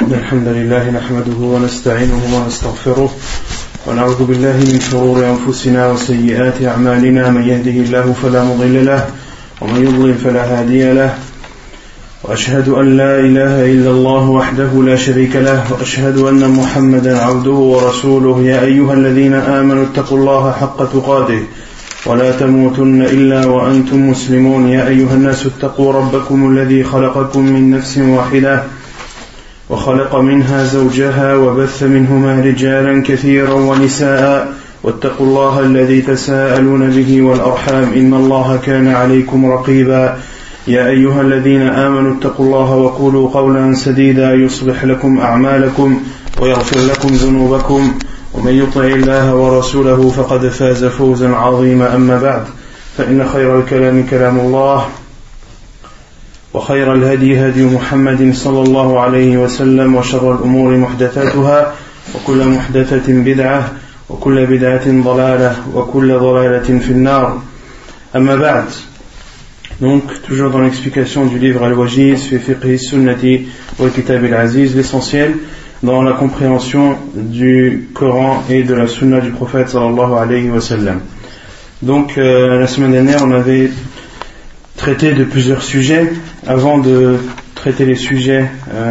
الحمد لله نحمده ونستعينه ونستغفره ونعوذ بالله من شرور أنفسنا وسيئات أعمالنا من يهده الله فلا مضل له ومن يضلل فلا هادي له وأشهد أن لا إله إلا الله وحده لا شريك له وأشهد أن محمدا عبده ورسوله يا أيها الذين آمنوا اتقوا الله حق تقاته ولا تموتن إلا وأنتم مسلمون يا أيها الناس اتقوا ربكم الذي خلقكم من نفس واحدة وخلق منها زوجها وبث منهما رجالا كثيرا ونساء واتقوا الله الذي تساءلون به والأرحام إن الله كان عليكم رقيبا يا أيها الذين آمنوا اتقوا الله وقولوا قولا سديدا يصلح لكم أعمالكم ويغفر لكم ذنوبكم ومن يطع الله ورسوله فقد فاز فوزا عظيما أما بعد فإن خير الكلام كلام الله وخير الهدي هدي محمد صلى الله عليه وسلم وشر الأمور محدثاتها وكل محدثة بدعة وكل بدعة ضلالة وكل ضلالة في النار أما بعد. Donc, toujours dans l'explication du livre Al-Wajiz fi fiqhi sunnati wal kitab al-aziz, l'essentiel dans la compréhension du Coran et de la sunna du prophète sallallahu alayhi wa sallam. Donc, la semaine dernière, on avait traité de plusieurs sujets. Avant de traiter les sujets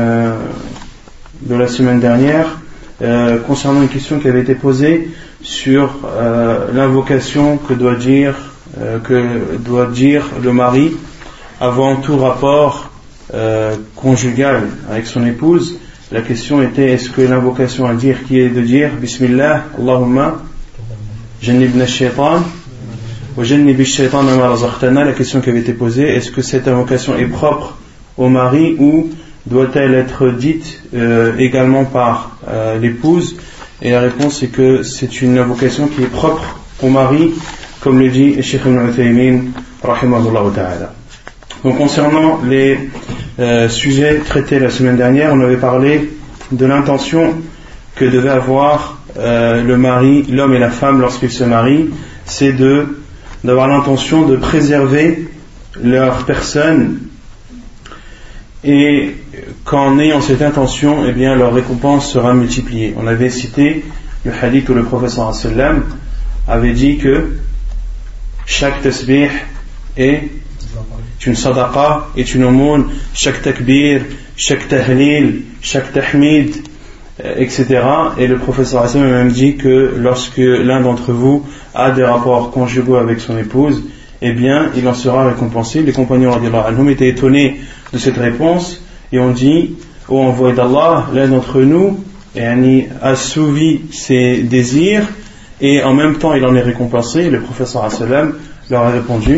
de la semaine dernière, concernant une question qui avait été posée sur l'invocation que doit dire le mari avant tout rapport conjugal avec son épouse. La question était, est-ce que l'invocation à dire qui est de dire Bismillah, Allahumma jannibna shaitan wa jannibi shaitan ma razaqtana, la question qui avait été posée, est-ce que cette invocation est propre au mari ou doit-elle être dite également par l'épouse? Et la réponse est que c'est une invocation qui est propre au mari, comme le dit Cheikh Ibn Uthaymin rahimahullah ta'ala. Donc concernant les sujets traités la semaine dernière, on avait parlé de l'intention que devait avoir le mari, l'homme et la femme lorsqu'ils se marient, c'est d'avoir l'intention de préserver leur personne, et qu'en ayant cette intention, eh bien leur récompense sera multipliée. On avait cité le hadith où le prophète sallallahu alayhi wa sallam avait dit que chaque tasbih est une sadaqa, est une aumône, chaque takbir, chaque tahlil, chaque tahmid, etc. Et le prophète sallallahu alayhi wa sallam a même dit que lorsque l'un d'entre vous a des rapports conjugaux avec son épouse, eh bien il en sera récompensé. Les compagnons radiyallahu anhum étaient étonnés de cette réponse et ont dit, ô envoyé d'Allah, l'un d'entre nous a assouvi ses désirs et en même temps il en est récompensé. Le prophète sallallahu alayhi wa sallam leur a répondu,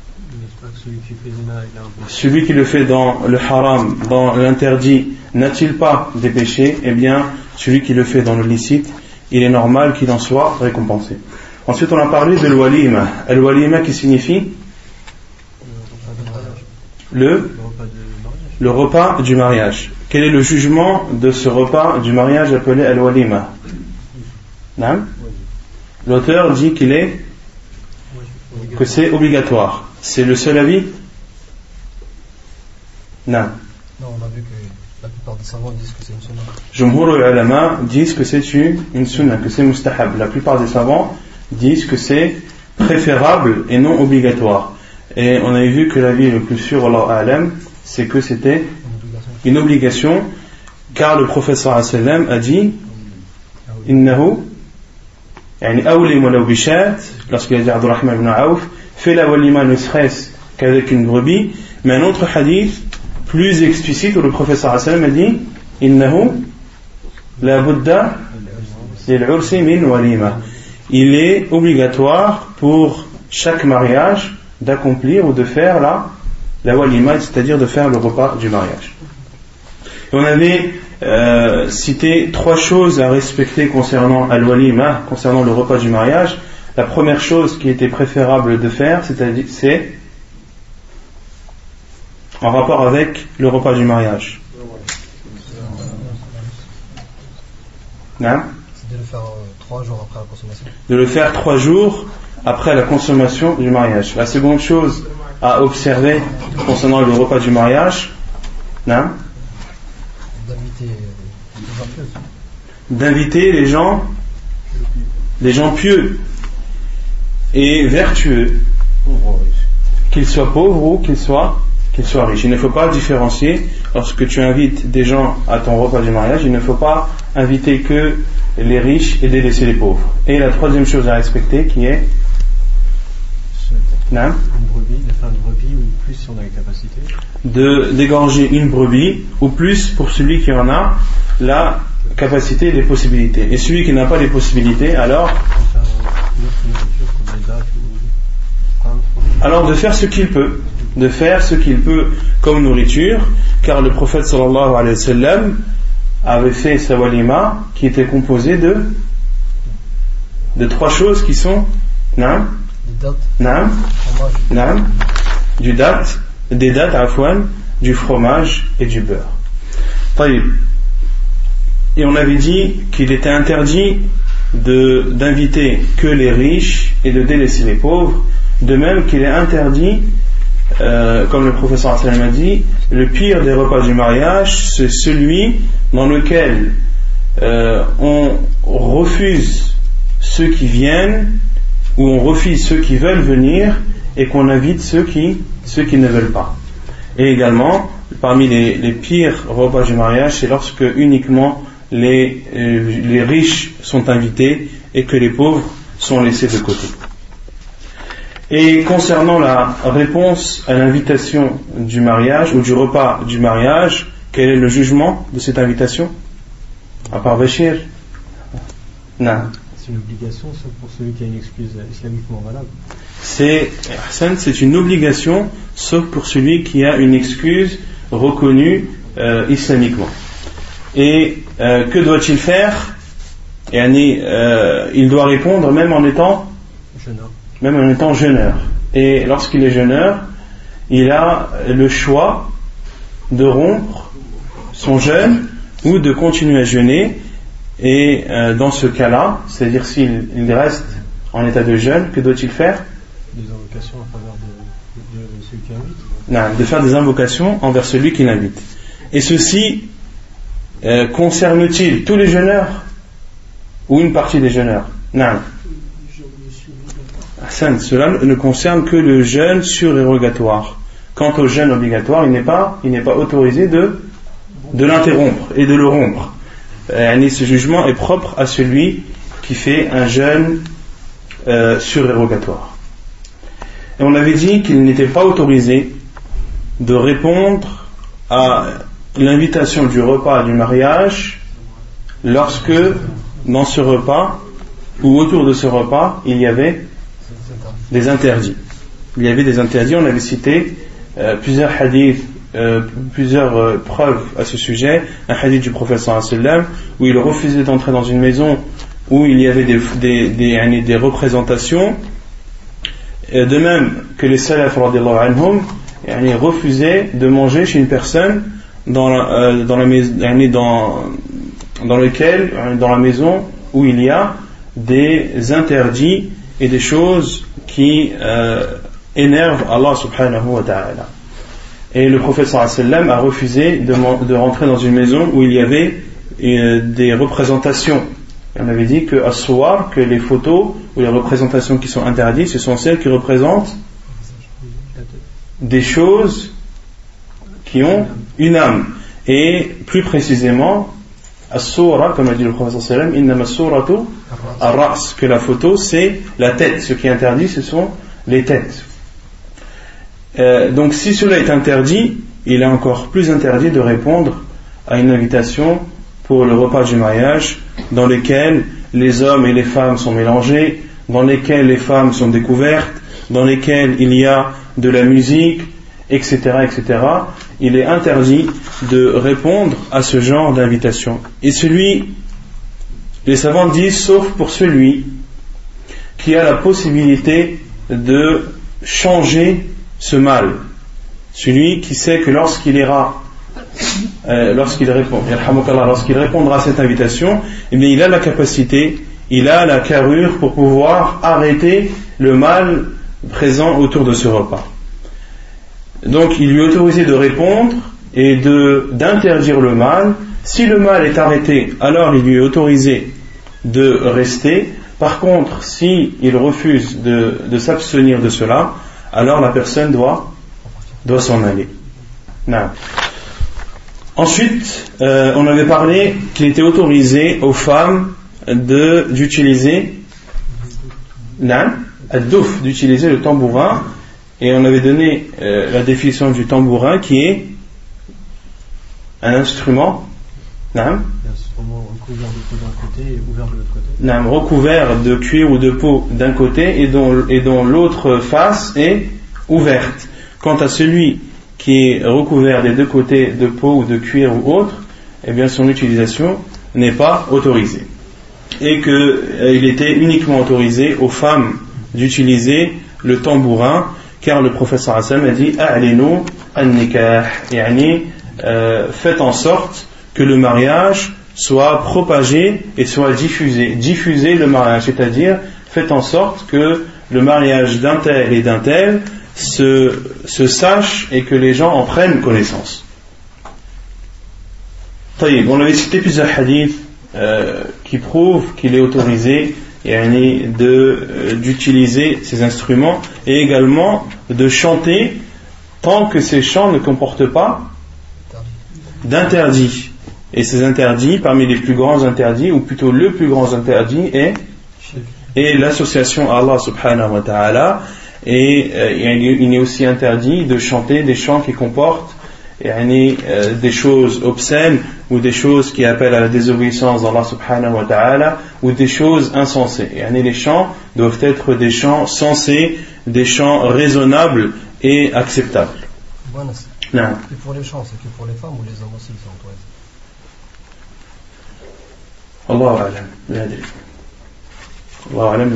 celui qui le fait dans le haram, dans l'interdit, n'a-t-il pas des péchés? Eh bien celui qui le fait dans le licite, il est normal qu'il en soit récompensé. Ensuite on a parlé de l'walima. Al-walima qui signifie le repas du mariage. Quel est le jugement de ce repas du mariage appelé al-walima? L'auteur dit que c'est obligatoire. C'est le seul avis? Non, on a vu que la plupart des savants disent que c'est une sunna. Jumhur al-ulama disent que c'est une sunna, que c'est mustahab. La plupart des savants disent que c'est préférable et non obligatoire. Et on avait vu que l'avis le plus sûr, Wallahu a'lam, c'est que c'était une obligation, car le prophète sallallahu alayhi wa sallam a dit innahu awlim walaw bishat, lorsqu'il a dit Abdurrahman ibn Auf, fais la walima ne serait-ce qu'avec une brebis. Mais un autre hadith plus explicite où le prophète sallallahu alayhi wa sallam a dit innahu la budda lil ursi min walima, il est obligatoire pour chaque mariage d'accomplir ou de faire la walima, c'est-à-dire de faire le repas du mariage. Et on avait cité 3 choses à respecter concernant al-walima, concernant le repas du mariage. La première chose qui était préférable de faire, c'est en rapport avec le repas du mariage. C'est de le faire 3 jours après la consommation. De le faire 3 jours après la consommation du mariage. La seconde chose à observer concernant le repas du mariage, D'inviter les gens pieux et vertueux, qu'ils soient pauvres ou qu'ils soient riches. Il ne faut pas différencier. Lorsque tu invites des gens à ton repas du mariage, il ne faut pas inviter que les riches et délaisser les pauvres. Et la troisième chose à respecter qui est une brebis, de faire une brebis ou plus si on a les capacités. D'égorger une brebis ou plus pour celui qui en a la capacité et les possibilités. Et celui qui n'a pas les possibilités, alors de faire ce qu'il peut. De faire ce qu'il peut comme nourriture, car le prophète sallallahu alayhi wa sallam avait fait sa walima qui était composée de trois choses qui sont des dattes, du fromage et du beurre. Et on avait dit qu'il était interdit d'inviter que les riches et de délaisser les pauvres, de même qu'il est interdit, comme le professeur sallam a dit, le pire des repas du mariage, c'est celui dans lequel on refuse ceux qui viennent ou on refuse ceux qui veulent venir et qu'on invite ceux qui ne veulent pas. Et également, parmi les pires repas du mariage, c'est lorsque uniquement les riches sont invités et que les pauvres sont laissés de côté. Et concernant la réponse à l'invitation du mariage ou du repas du mariage, quel est le jugement de cette invitation? À part Bachir? Non. C'est une obligation, sauf pour celui qui a une excuse islamiquement valable. C'est une obligation, sauf pour celui qui a une excuse reconnue islamiquement. Et que doit-il faire? Il doit répondre même en étant jeûneur. Et lorsqu'il est jeûneur, il a le choix de rompre son jeûne ou de continuer à jeûner. Et dans ce cas-là, c'est-à-dire s'il reste en état de jeûne, que doit-il faire? Des invocations en faveur de celui qui invite. Non, de faire des invocations envers celui qui l'invite. Et ceci concerne-t-il tous les jeûneurs ou une partie des jeûneurs? Non. Cela ne concerne que le jeûne surérogatoire. Quant au jeûne obligatoire, il n'est pas autorisé de l'interrompre et de le rompre. Ce jugement est propre à celui qui fait un jeûne surérogatoire. Et on avait dit qu'il n'était pas autorisé de répondre à l'invitation du repas du mariage lorsque dans ce repas ou autour de ce repas il y avait des interdits. On avait cité plusieurs hadiths, plusieurs preuves à ce sujet. Un hadith du prophète sallallahu alayhi wa sallam où il refusait d'entrer dans une maison où il y avait des représentations, de même que les salaf radiyallahu anhum refusaient de manger chez une personne dans la maison où il y a des interdits et des choses qui énervent Allah subhanahu wa ta'ala. Et le prophète sallallahu alayhi wa sallam a refusé de rentrer dans une maison où il y avait des représentations. Et on avait dit que as-suwar, que les photos ou les représentations qui sont interdites, ce sont celles qui représentent des choses qui ont une âme. Et plus précisément, as-sura, comme a dit le prophète sallallahu alayhi wa sallam, innama as-suratu ar-ra's, que la photo c'est la tête. Ce qui est interdit, ce sont les têtes. Donc si cela est interdit, il est encore plus interdit de répondre à une invitation pour le repas du mariage dans lequel les hommes et les femmes sont mélangés, dans lesquels les femmes sont découvertes, dans lesquels il y a de la musique, etc., etc. Il est interdit de répondre à ce genre d'invitation. Et les savants disent, sauf pour celui qui a la possibilité de changer ce mal, celui qui sait que lorsqu'il répondra à cette invitation, eh bien, il a la capacité, il a la carrure pour pouvoir arrêter le mal présent autour de ce repas. Donc il lui est autorisé de répondre et d'interdire le mal Si le mal est arrêté, alors il lui est autorisé de rester. Par contre, si il refuse de s'abstenir de cela, alors la personne doit s'en aller. Non. Ensuite, on avait parlé qu'il était autorisé aux femmes d'utiliser d'utiliser le tambourin, et on avait donné la définition du tambourin qui est un instrument recouvert de peau d'un côté et ouvert de l'autre côté. Recouvert de cuir ou de peau d'un côté et dont l'autre face est ouverte. Quant à celui qui est recouvert des deux côtés de peau ou de cuir ou autre, eh bien son utilisation n'est pas autorisée. Et qu'il était uniquement autorisé aux femmes d'utiliser le tambourin, car le prophète sallallahu alayhi wa sallam a dit A'linu an-nikah, yani faites en sorte que le mariage soit propagé et soit diffusé. Diffuser le mariage, c'est-à-dire faites en sorte que le mariage d'un tel et d'un tel se sache et que les gens en prennent connaissance. On avait cité plusieurs hadiths qui prouvent qu'il est autorisé d'utiliser ces instruments et également de chanter tant que ces chants ne comportent pas d'interdits. Et ces interdits, parmi les plus grands interdits, ou plutôt le plus grand interdit est l'association à Allah subhanahu wa ta'ala. Et il est aussi interdit de chanter des chants qui comportent des choses obscènes ou des choses qui appellent à la désobéissance d'Allah subhanahu wa ta'ala ou des choses insensées. Les chants doivent être des chants sensés, des chants raisonnables et acceptables. Et pour les chants, c'est que pour les femmes ou les hommes aussi sont autorisés? Allahu a'lam, la adri. Allahu a'lam,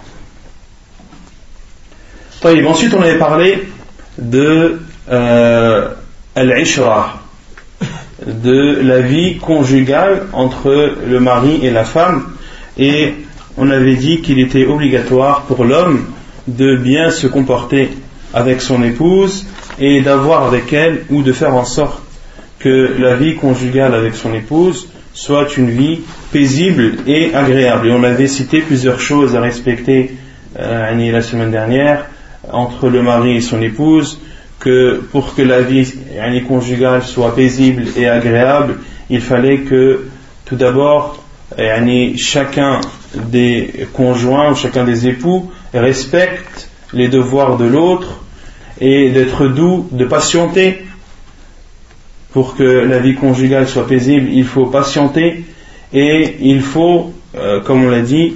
la adri. Ensuite, on avait parlé de al-ishra, de la vie conjugale entre le mari et la femme, et on avait dit qu'il était obligatoire pour l'homme de bien se comporter avec son épouse et d'avoir avec elle ou de faire en sorte que la vie conjugale avec son épouse soit une vie paisible et agréable. Et on avait cité plusieurs choses à respecter la semaine dernière entre le mari et son épouse, que pour que la vie conjugale soit paisible et agréable, il fallait que tout d'abord chacun des conjoints ou chacun des époux respecte les devoirs de l'autre et d'être doux, de patienter. Pour que la vie conjugale soit paisible, il faut patienter et il faut, comme on l'a dit,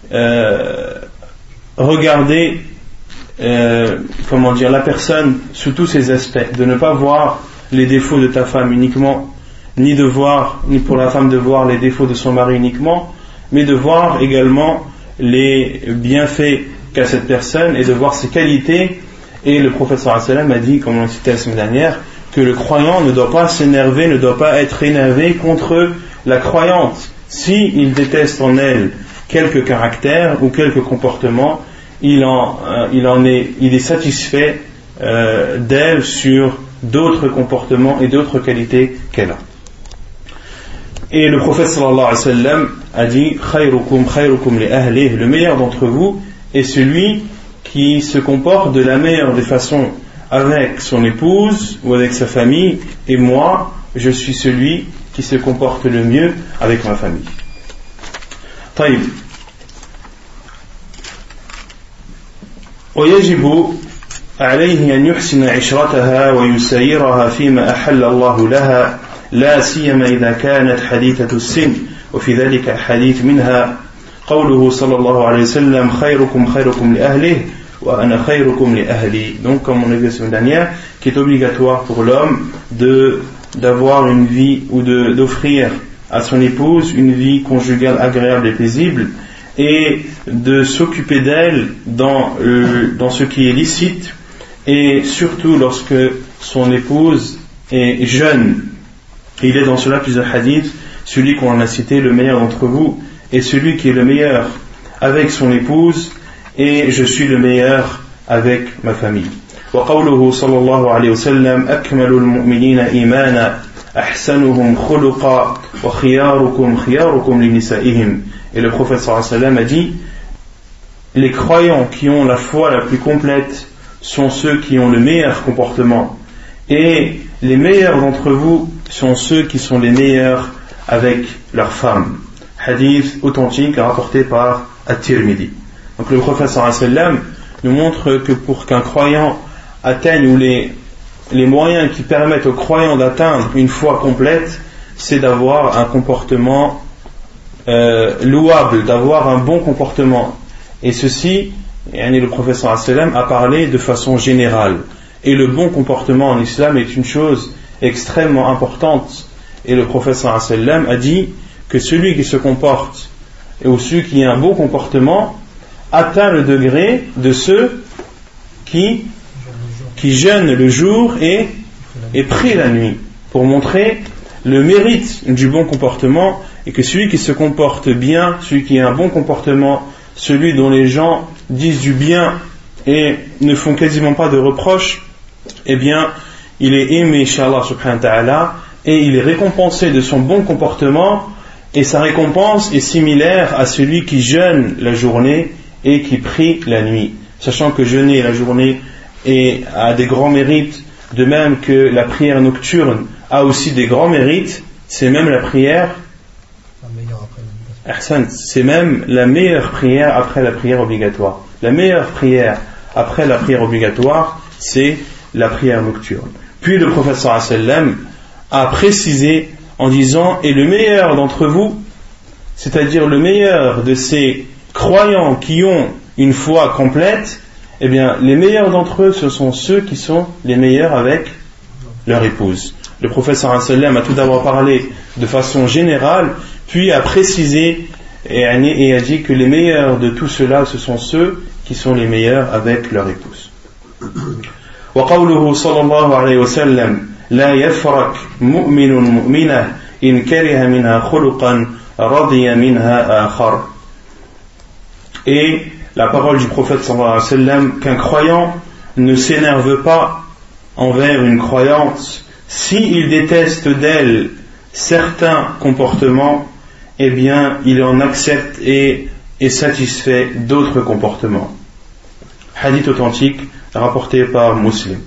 regarder la personne sous tous ses aspects, de ne pas voir les défauts de ta femme uniquement, ni pour la femme de voir les défauts de son mari uniquement, mais de voir également les bienfaits qu'a cette personne et de voir ses qualités. Et le prophète sallallahu alayhi wa sallam a dit, comme on l'a cité la semaine dernière, que le croyant ne doit pas s'énerver, ne doit pas être énervé contre la croyante. S'il déteste en elle quelques caractères ou quelques comportements, il est satisfait d'elle sur d'autres comportements et d'autres qualités qu'elle a. Et le prophète sallallahu alayhi wa sallam a dit khayrukum li ahlihi, le meilleur d'entre vous est celui qui se comporte de la meilleure des façons avec son épouse ou avec sa famille, et moi je suis celui qui se comporte le mieux avec ma famille. طيب. ويجب عليه أن يحسن عشرتها ويسيرها فيما أحل الله لها لا سيما إذا كانت حديثة السن وفي ذلك حديث منها قوله صلى الله عليه وسلم خيركم لأهله وأنا خيركم لأهلي. Donc comme on a vu la semaine dernière, qui est obligatoire pour l'homme d'avoir une vie ou d'offrir à son épouse une vie conjugale agréable et paisible et de s'occuper d'elle dans ce qui est licite et surtout lorsque son épouse est jeune. Il est dans cela plusieurs hadiths, celui qu'on a cité, le meilleur d'entre vous est celui qui est le meilleur avec son épouse et je suis le meilleur avec ma famille. وقوله صلى الله عليه وسلم أكمل المؤمنين إيمانا أحسنهم خلقا وخياركم خياركم لنسائهم. Et le prophète sallallahu alayhi wa sallam a dit, les croyants qui ont la foi la plus complète sont ceux qui ont le meilleur comportement, et les meilleurs d'entre vous sont ceux qui sont les meilleurs avec leurs femmes. Hadith authentique rapporté par At-Tirmidhi. Donc le prophète sallallahu alayhi wa sallam nous montre que pour qu'un croyant atteigne, ou les moyens qui permettent aux croyants d'atteindre une foi complète, c'est d'avoir un comportement louable, d'avoir un bon comportement. Et ceci, le prophète sallallahu alayhi wa sallam a parlé de façon générale. Et le bon comportement en islam est une chose extrêmement importante. Et le prophète sallallahu alayhi wa sallam a dit que celui qui se comporte, ou celui qui a un bon comportement, atteint le degré de ceux qui jeûnent le jour et prient la nuit, pour montrer le mérite du bon comportement, et que celui qui se comporte bien, celui qui a un bon comportement, celui dont les gens disent du bien et ne font quasiment pas de reproches, eh bien il est aimé chez Allah subhanahu wa ta'ala, et il est récompensé de son bon comportement, et sa récompense est similaire à celui qui jeûne la journée et qui prie la nuit, sachant que jeûner la journée a des grands mérites, de même que la prière nocturne a aussi des grands mérites. C'est même la prière, c'est même la meilleure prière après la prière obligatoire. La meilleure prière après la prière obligatoire, c'est la prière nocturne. Puis le prophète sallallahu alayhi wa sallam a précisé en disant, et le meilleur d'entre vous, c'est-à-dire le meilleur de ces croyants qui ont une foi complète, eh bien les meilleurs d'entre eux, ce sont ceux qui sont les meilleurs avec leur épouse. Le prophète sallallahu alayhi wa sallam a tout d'abord parlé de façon générale, puis a précisé et a dit que les meilleurs de tout cela, ce sont ceux qui sont les meilleurs avec leur épouse. وقوله صلى الله عليه وسلم لا يفرق مؤمن مؤمنة إن كره منها خلقا رضي منها آخر. Et la parole du prophète sallallahu alayhi wa sallam, qu'un croyant ne s'énerve pas envers une croyante s'il déteste d'elle certains comportements, eh bien il en accepte et est satisfait d'autres comportements. Hadith authentique rapporté par Muslim.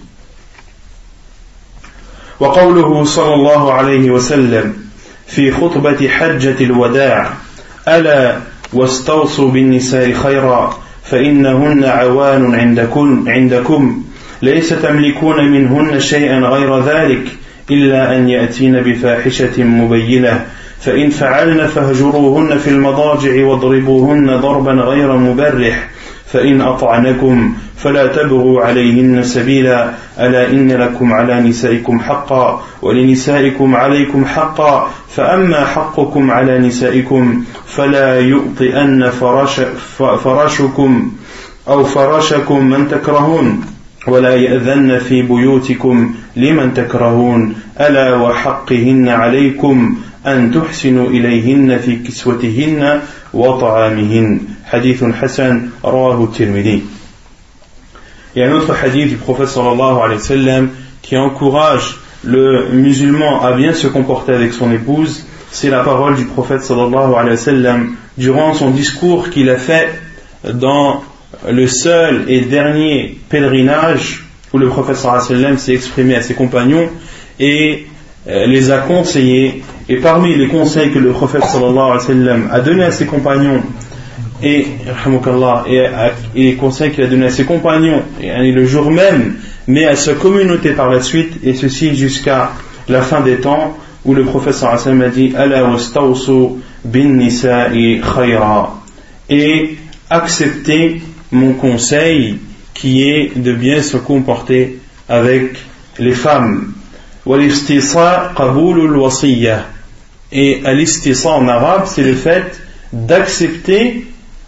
وقوله صلى الله عليه وسلم في خطبة حجة الوداع ألا واستوصوا بالنساء خيرا فإنهن عوان عندكم ليس تملكون منهن شيئا غير ذلك إلا أن يأتين بفاحشة مبينة فإن فعلن فاهجروهن في المضاجع واضربوهن ضربا غير مبرح فإن أطعنكم فلا تبغوا عليهن سبيلا ألا إن لكم على نسائكم حقا ولنسائكم عليكم حقا فأما حقكم على نسائكم فلا يؤطئن فراشكم أو فراشكم من تكرهون ولا يأذن في بيوتكم لمن تكرهون ألا وحقهن عليكم أن تحسنوا إليهن في كسوتهن وطعامهن. Hadith Hassan rawahu Tirmidhi. Il y a un autre hadith du prophète sallallahu alayhi wa sallam qui encourage le musulman à bien se comporter avec son épouse. C'est la parole du prophète sallallahu alayhi wa sallam durant son discours qu'il a fait dans le seul et dernier pèlerinage où le prophète sallallahu alayhi wa sallam s'est exprimé à ses compagnons et les a conseillés. Et parmi les conseils que le prophète sallallahu alayhi wa sallam a donné à ses compagnons et les conseils qu'il a donné à ses compagnons et le jour même, mais à sa communauté par la suite, et ceci jusqu'à la fin des temps, où le prophète sallallahu alayhi wa sallam a dit ala wastawsu bin nisa'i khayra, et acceptez mon conseil qui est de bien se comporter avec les femmes. Wal-istisa qabulul wasiyya, et al-istisa en arabe c'est le fait d'accepter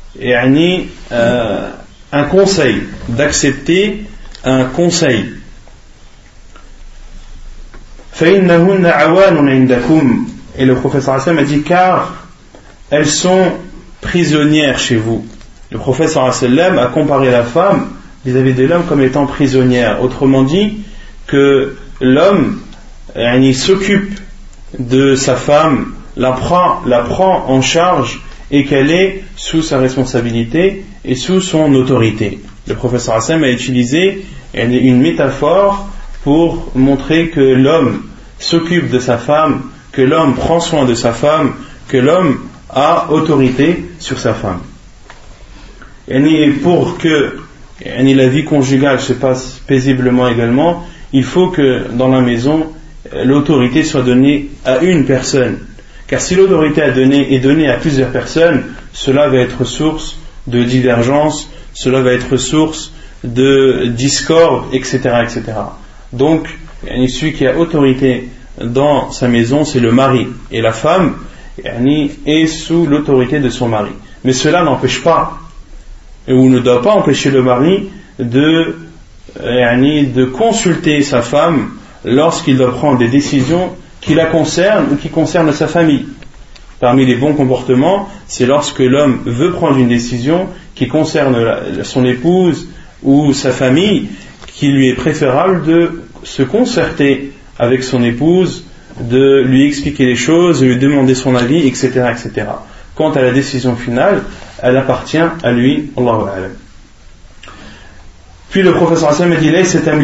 un conseil, d'accepter un conseil. فإنهن عوان عندكم, et le prophète sallallahu alayhi wa sallam a dit car elles sont prisonnières chez vous. Le prophète sallallahu alayhi wa sallam a comparé la femme vis-à-vis de l'homme comme étant prisonnière, autrement dit que l'homme s'occupe de sa femme, la prend en charge et qu'elle est sous sa responsabilité et sous son autorité. Le professeur Hassan a utilisé une métaphore pour montrer que l'homme s'occupe de sa femme, que l'homme prend soin de sa femme, que l'homme a autorité sur sa femme. Et pour que la vie conjugale se passe paisiblement également, il faut que dans la maison, l'autorité soit donnée à une personne. Car si l'autorité est donnée à plusieurs personnes, cela va être source de divergence, cela va être source de discorde, etc., etc. Donc, celui qui a autorité dans sa maison, c'est le mari. Et la femme est sous l'autorité de son mari. Mais cela n'empêche pas, ou ne doit pas empêcher le mari de consulter sa femme lorsqu'il doit prendre des décisions qui la concernent ou qui concernent sa famille. Parmi les bons comportements, c'est lorsque l'homme veut prendre une décision qui concerne son épouse ou sa famille, qu'il lui est préférable de se concerter avec son épouse, de lui expliquer les choses, de lui demander son avis, etc., etc. Quant à la décision finale, elle appartient à lui, Allahu a'lam. Puis le professeur Hassan a dit: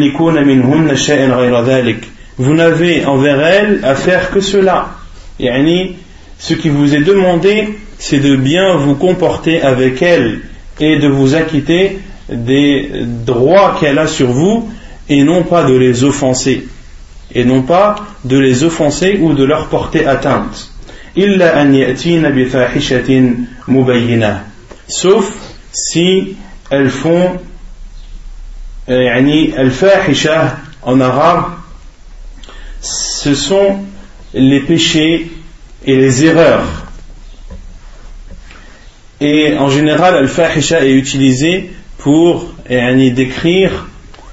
vous n'avez envers elle à faire que cela. Ce qui vous est demandé, c'est de bien vous comporter avec elle et de vous acquitter des droits qu'elle a sur vous, et non pas de les offenser. Et non pas de les offenser ou de leur porter atteinte. إلا أن يأتين بفاحشة مبينة. Sauf si elles font al-fahisha en arabe, ce sont les péchés et les erreurs. Et en général, al-fahisha est utilisé pour décrire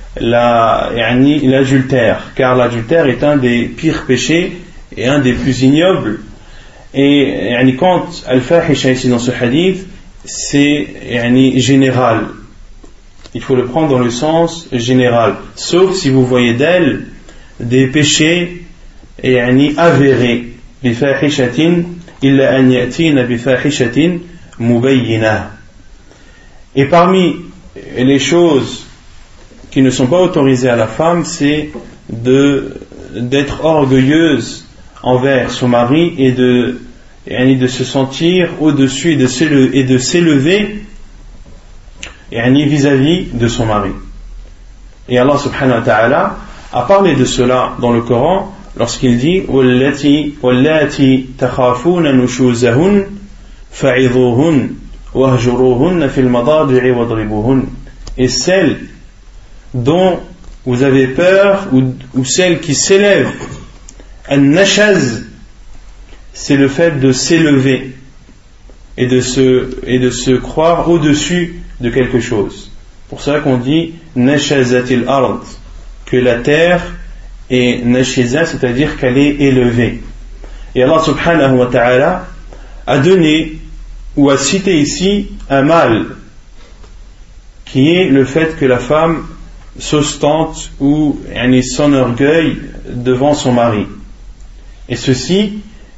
l'adultère, car l'adultère est un des pires péchés et un des plus ignobles. Et quand al-fahisha ici dans ce hadith, c'est général. Il faut le prendre dans le sens général, sauf si vous voyez d'elle des péchés avérés. بفاحشة إلا أن يأتين بفاحشة مبينة. Et parmi les choses qui ne sont pas autorisées à la femme, c'est d'être orgueilleuse envers son mari et de se sentir au-dessus et de s'élever vis-à-vis de son mari. Et Allah subhanahu wa ta'ala a parlé de cela dans le Coran lorsqu'il dit وَاللَّاتِي تَخَافُونَ نُشُوزَهُنَّ فَعِظُوهُنَّ وَاهْجُرُوهُنَّ فِي الْمَضَاجِعِ وَاضْرِبُوهُنَّ. Et celles dont vous avez peur, ou celles qui s'élèvent, an-nashaz, c'est le fait de s'élever et de se croire au-dessus de quelque chose. Pour ça qu'on dit nashazatil ard, que la terre est nashiza, c'est-à-dire qu'elle est élevée. Et Allah subhanahu wa ta'ala a donné ou a cité ici un mal qui est le fait que la femme s'ostente ou s'enorgueille devant son mari. Et ceci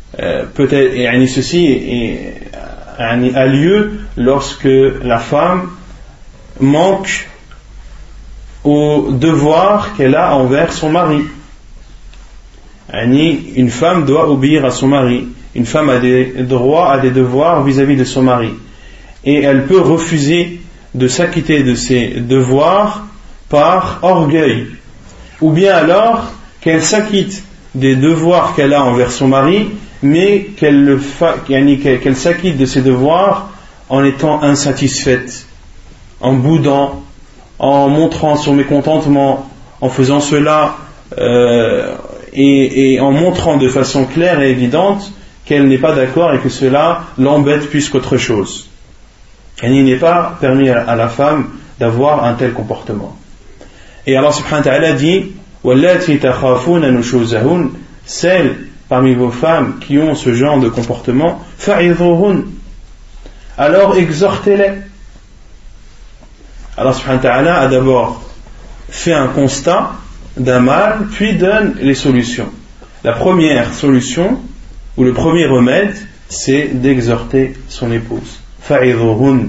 a lieu lorsque la femme manque au devoir qu'elle a envers son mari. Une femme doit obéir à son mari. Une femme a des droits, a des devoirs vis-à-vis de son mari. Et elle peut refuser de s'acquitter de ses devoirs par orgueil. Ou bien alors qu'elle s'acquitte des devoirs qu'elle a envers son mari, mais qu'elle s'acquitte de ses devoirs en étant insatisfaite, en boudant, en montrant son mécontentement, en faisant cela et en montrant de façon claire et évidente qu'elle n'est pas d'accord et que cela l'embête plus qu'autre chose. Et il n'est pas permis à la femme d'avoir un tel comportement. Et Allah subhanahu wa ta'ala dit وَاللَّاتِي تَخَافُونَ نُشُوزَهُنَّ, celles parmi vos femmes qui ont ce genre de comportement, فَعِظُوهُنَّ, alors exhortez-les. Allah subhanahu wa ta'ala a d'abord fait un constat d'un mal, puis donne les solutions. la première solution ou le premier remède, c'est d'exhorter son épouse. Fa'idhuhun.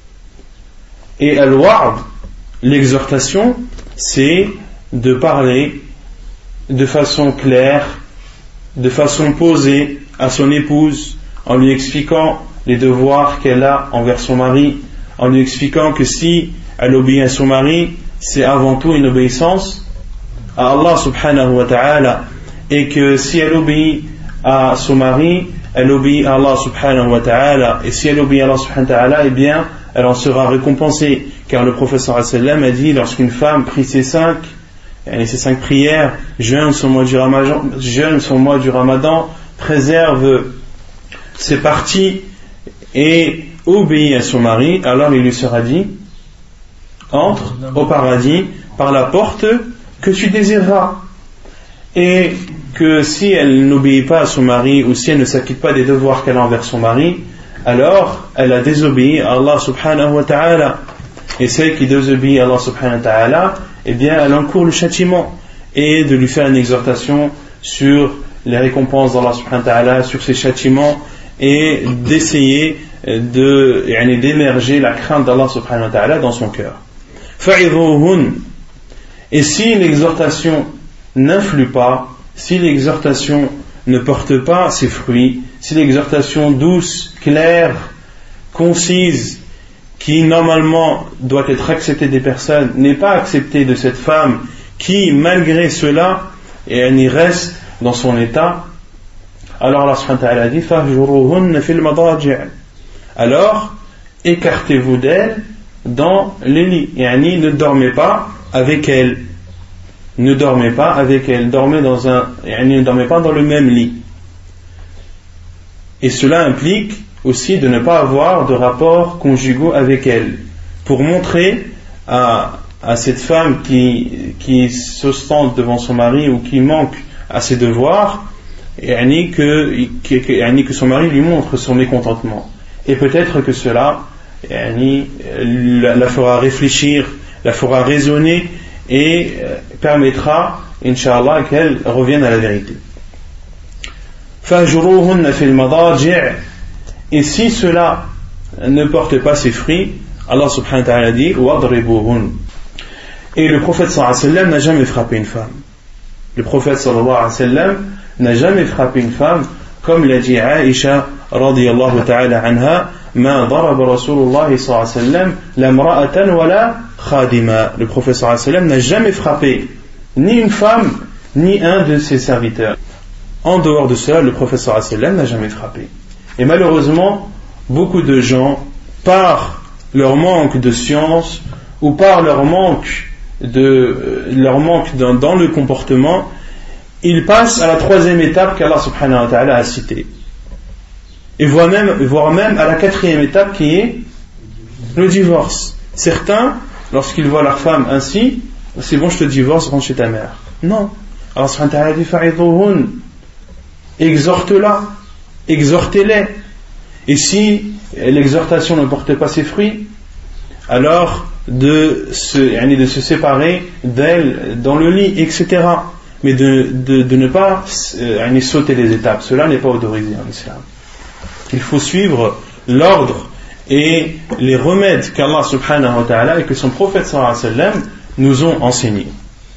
Et al-wa'd, l'exhortation, c'est de parler de façon claire, de façon posée à son épouse, en lui expliquant les devoirs qu'elle a envers son mari, en lui expliquant que si elle obéit à son mari, c'est avant tout une obéissance à Allah subhanahu wa ta'ala, et que si elle obéit à son mari, elle obéit à Allah subhanahu wa ta'ala, et si elle obéit à Allah subhanahu wa ta'ala, eh bien elle en sera récompensée, car le prophète sallallahu alayhi wa sallam a dit, lorsqu'une femme prie ses 5 prières, jeûne son mois du Ramadan, préserve ses parties et obéit à son mari, alors il lui sera dit, entre au paradis par la porte que tu désireras. Et que si elle n'obéit pas à son mari, ou si elle ne s'acquitte pas des devoirs qu'elle a envers son mari, alors elle a désobéi à Allah subhanahu wa ta'ala. Et celle qui désobéit à Allah subhanahu wa ta'ala, eh bien elle encourt le châtiment, et de lui faire une exhortation sur les récompenses d'Allah subhanahu wa ta'ala, sur ses châtiments, et d'essayer d'émerger la crainte d'Allah subhanahu wa ta'ala dans son cœur. Fa'idhuhun. Et si l'exhortation n'influe pas, si l'exhortation ne porte pas ses fruits, si l'exhortation douce, claire, concise, qui normalement doit être acceptée des personnes, n'est pas acceptée de cette femme qui, malgré cela, et elle y reste dans son état, alors Allah subhanahu wa ta'ala dit fahjuruhunna fil madaji'. Alors écartez-vous d'elle dans les lits, yani ne dormez pas avec elle, ne dormez pas avec elle, ne dormez pas dans le même lit. Et cela implique aussi de ne pas avoir de rapports conjugaux avec elle, pour montrer à cette femme qui s'ostente devant son mari ou qui manque à ses devoirs, que son mari lui montre son mécontentement. Et peut-être que cela la fera réfléchir, la fera raisonner et permettra, Inch'Allah, qu'elle revienne à la vérité. Fahjuruhunna fil madaji'. Et si cela ne porte pas ses fruits, Allah subhanahu wa ta'ala dit wadribuhun. Et le prophète sallallahu alayhi wa sallam n'a jamais frappé une femme. Le prophète sallallahu alayhi wa sallam n'a jamais frappé une femme, comme l'a dit Aïcha radiyallahu ta'ala anha, ma daraba Rasulullah sallallahu alayhi wa sallam la mra'atan wa la khadima. Le prophète sallallahu alayhi wa sallam n'a jamais frappé ni une femme ni un de ses serviteurs. En dehors de cela, le prophète sallallahu alayhi wa sallam n'a jamais frappé. Et malheureusement, beaucoup de gens, par leur manque de science ou par leur manque dans le comportement, ils passent à la troisième étape qu'Allah subhanahu wa ta'ala a citée. Et voire même à la quatrième étape qui est le divorce. Certains, lorsqu'ils voient leur femme ainsi, c'est bon, je te divorce, rentre chez ta mère. Non. Allah subhanahu wa ta'ala dit fa'idhuhun. Exhorte-la, exhortez-les. Et si l'exhortation ne porte pas ses fruits, alors de se séparer d'elle dans le lit, etc. Mais de ne pas sauter les étapes. Cela n'est pas autorisé en islam. Il faut suivre l'ordre et les remèdes qu'Allah subhanahu wa ta'ala et que son prophète sallallahu alayhi wa sallam nous ont enseignés.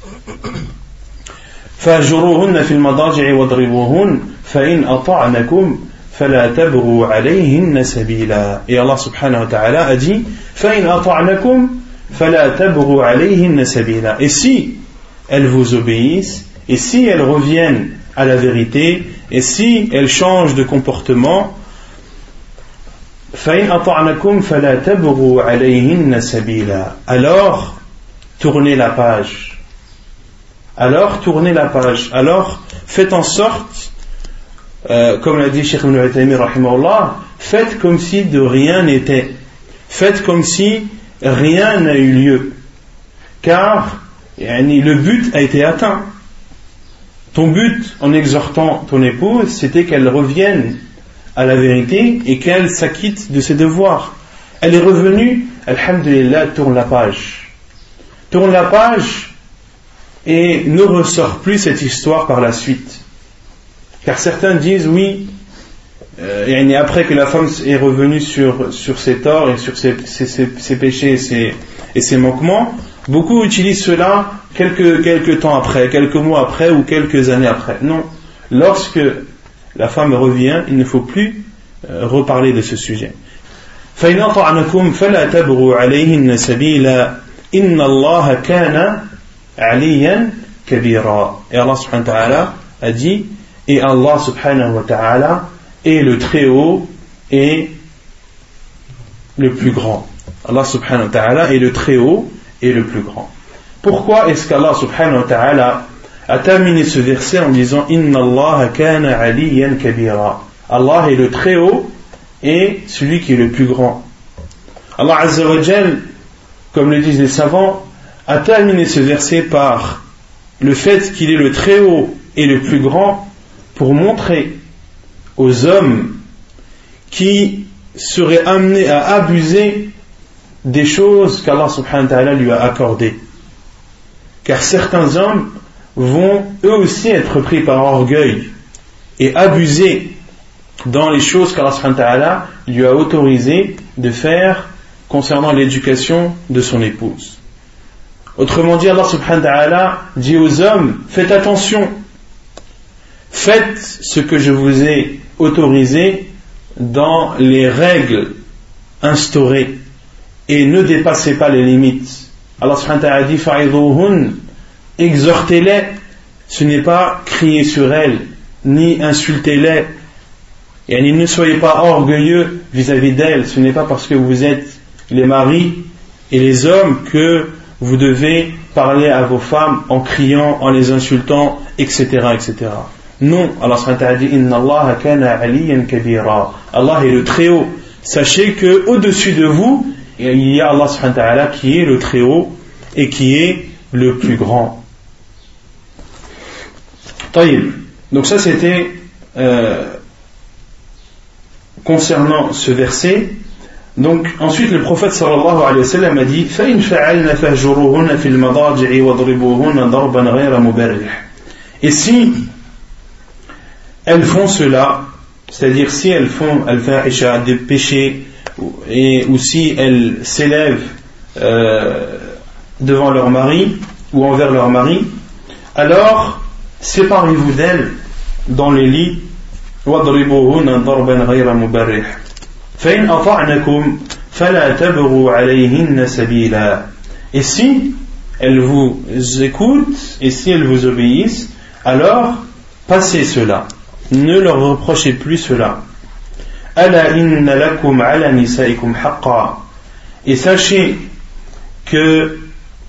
فَاجُرُوهُنَّ فِي الْمَضَاجِعِ وَاضْرِبُوهُنَّ فَإِنْ أَطَعْنَكُمْ فَلَا تَبْغُوا عَلَيْهِنَّ سَبِيلًا. Et Allah subhanahu wa ta'ala a dit فَإِنْ أَطَعْنَكُمْ فَلَا تَبْغُوا عَلَيْهِنَّ سَبِيلًا. Et si elles vous obéissent, et si elles reviennent à la vérité, et si elles changent de comportement, فَإِنْ أَطَعْنَكُمْ فَلَا تَبْغُوا عَلَيْهِنَّ سَبِيلًا. Alors tournez la page. Alors faites en sorte, comme l'a dit Cheikh Ibn Uthaymin rahimahullah, faites comme si de rien n'était, faites comme si rien n'a eu lieu, car le but a été atteint. Ton but en exhortant ton épouse, c'était qu'elle revienne à la vérité et qu'elle s'acquitte de ses devoirs. Elle est revenue, alhamdulillah, tourne la page et ne ressort plus cette histoire par la suite. Car certains disent oui, après que la femme est revenue sur ses torts et sur ses péchés et ses manquements, beaucoup utilisent cela quelques temps après, quelques mois après ou quelques années après. Non, lorsque la femme revient, il ne faut plus reparler de ce sujet. فإن أطعنكم فلا تبغوا عليهن سبيلا إن الله كان عليا كبيرا. Et Allah subhanahu wa ta'ala a dit, et Allah subhanahu wa ta'ala est le très haut et le plus grand. Allah subhanahu wa ta'ala est le très haut et le plus grand. Pourquoi est-ce qu'Allah subhanahu wa ta'ala a terminé ce verset en disant Inna Allah kana aliyan kabira? Allah est le très haut et celui qui est le plus grand. Allah azza wa jal, comme le disent les savants, a terminé ce verset par le fait qu'il est le très haut et le plus grand pour montrer aux hommes qui seraient amenés à abuser des choses qu'Allah subhanahu wa ta'ala lui a accordées. Car certains hommes vont eux aussi être pris par orgueil et abuser dans les choses qu'Allah subhanahu wa ta'ala lui a autorisé de faire concernant l'éducation de son épouse. Autrement dit, Allah subhanahu wa ta'ala dit aux hommes, faites attention, faites ce que je vous ai autorisé dans les règles instaurées et ne dépassez pas les limites. Allah subhanahu wa ta'ala dit fa'idhuhun, exhortez-les, ce n'est pas crier sur elles ni insultez-les, et ne soyez pas orgueilleux vis-à-vis d'elles. Ce n'est pas parce que vous êtes les maris et les hommes que vous devez parler à vos femmes en criant, en les insultant, etc., etc. Non, Allah subhanahu wa ta'ala dit Inna Allah kana aliyan kabira. Allah est le très haut. Sachez que au-dessus de vous il y a Allah subhanahu wa ta'ala qui est le très haut et qui est le plus grand. Taïb. Donc ça c'était concernant ce verset. Donc ensuite le prophète sallallahu alayhi wa sallam a dit فَإِنْ فَعَلْنَ فَهْجُرُوهُنَّ فِي الْمَضَاجِعِ وَاضْرِبُوهُنَّ ضَرْبًا غَيْرَ مُبَرِّحٍ. Et si elles font cela, c'est-à-dire si elles font al-fahisha, des péchés, ou si elles s'élèvent devant leur mari ou envers leur mari, alors séparez-vous d'elles dans les lits. وَاضْرِبُوهُنَّ ضَرْبًا غَيْرَ مُبَرِّحٍ فَإِنْ أَطَعْنَكُمْ فَلَا تَبْغُوا عَلَيْهِنَّ سَبِيلًا. Et si elles vous écoutent et si elles vous obéissent, alors passez cela, ne leur reprochez plus cela. أَلَا إِنَّ لَكُمْ عَلَى نِسَائِكُمْ حَقًّا. Et sachez que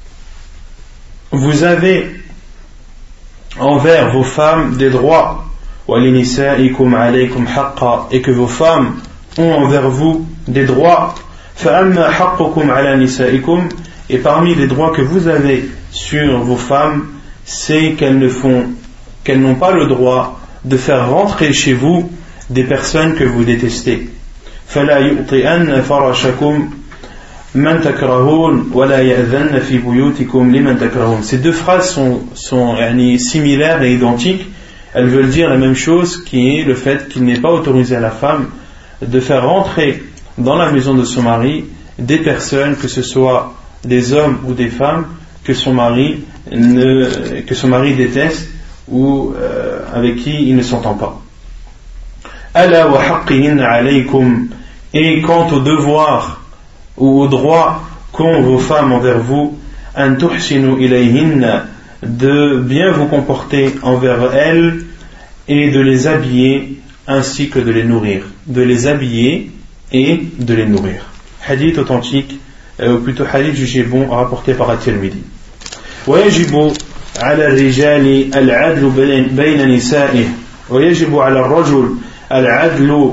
vous avez envers vos femmes des droits. وَلِنِسَائِكُمْ عَلَيْكُمْ حَقًّا. Et que vos femmes ont envers vous des droits. فَأَمَّا حَقُّكُمْ عَلَى نِسَائِكُمْ. Et parmi les droits que vous avez sur vos femmes, c'est qu'elles n'ont pas le droit de faire rentrer chez vous des personnes que vous détestez. فَلَا يُؤْطِئَنَّ فَرَشَكُمْ مَنْ تَكْرَهُونَ وَلَا يَأْذَنَّ فِي بُيُوتِكُمْ لِمَنْ تَكْرَهُونَ. Ces deux phrases sont similaires et identiques. Elles veulent dire la même chose, qui est le fait qu'il n'est pas autorisé à la femme de faire rentrer dans la maison de son mari des personnes, que ce soit des hommes ou des femmes, que son mari déteste ou avec qui il ne s'entend pas. Ala wa haqqihin alaykum. Et quant au devoir ou au droit qu'ont vos femmes envers vous, an tuhsinu ilayhinna, de bien vous comporter envers elles et de les habiller ainsi que de les nourrir. De les habiller et de les nourrir. Hadith authentique, ou plutôt hadith jugé bon, rapporté par At-Tirmidhi. ويجب على الرجال العدل بين نسائه ويجب على الرجل العدل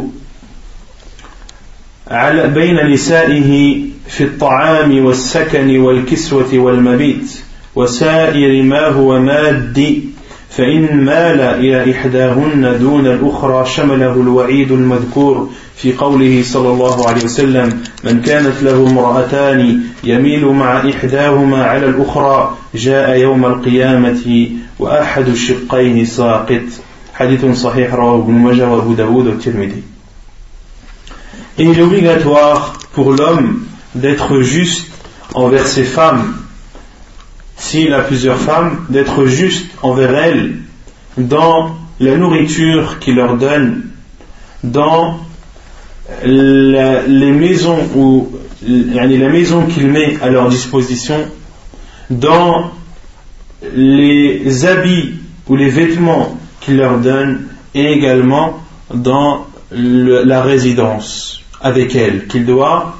بين نسائه في الطعام والسكن والكسوة والمبيت وسائر ما هو مادي فإن مال إلى إحداهن دون الأخرى شمله الوعيد المذكور في قوله صلى الله عليه وسلم من كانت له امرأتان يميل مع إحداهما على الأخرى جاء يوم القيامة وأحد الشقين ساقط Hadithun sahih rawahu Ibn Majah wa Abu Daoud wa Tirmidhi. Et il est obligatoire pour l'homme d'être juste envers ses femmes, s'il a plusieurs femmes, d'être juste envers elles dans la nourriture qu'il leur donne, dans les maisons ou la maison qu'il met à leur disposition, dans les habits ou les vêtements qu'il leur donne, et également dans la résidence avec elles, qu'il doit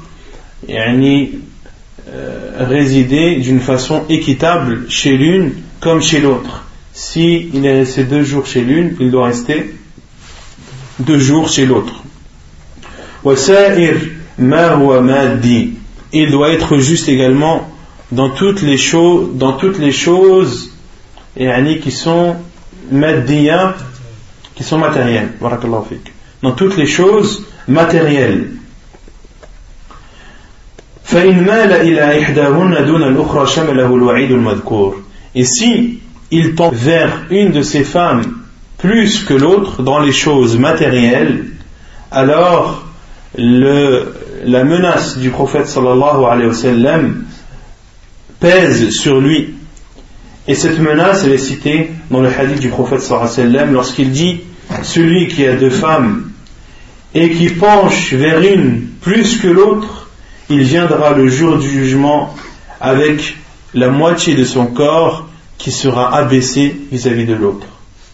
résider d'une façon équitable chez l'une comme chez l'autre. Si il est resté 2 jours chez l'une, il doit rester 2 jours chez l'autre. Il doit être juste également dans toutes les choses qui sont maddiya, qui sont matérielles. Dans toutes les choses matérielles. Et si il tend vers une de ses femmes plus que l'autre dans les choses matérielles, alors la menace du prophète sallallahu alayhi wa sallam pèse sur lui. Et cette menace, elle est citée dans le hadith du prophète sallallahu alayhi wa sallam lorsqu'il dit: celui qui a 2 femmes et qui penche vers une plus que l'autre, il viendra le jour du jugement avec la moitié de son corps qui sera abaissé vis-à-vis de l'autre.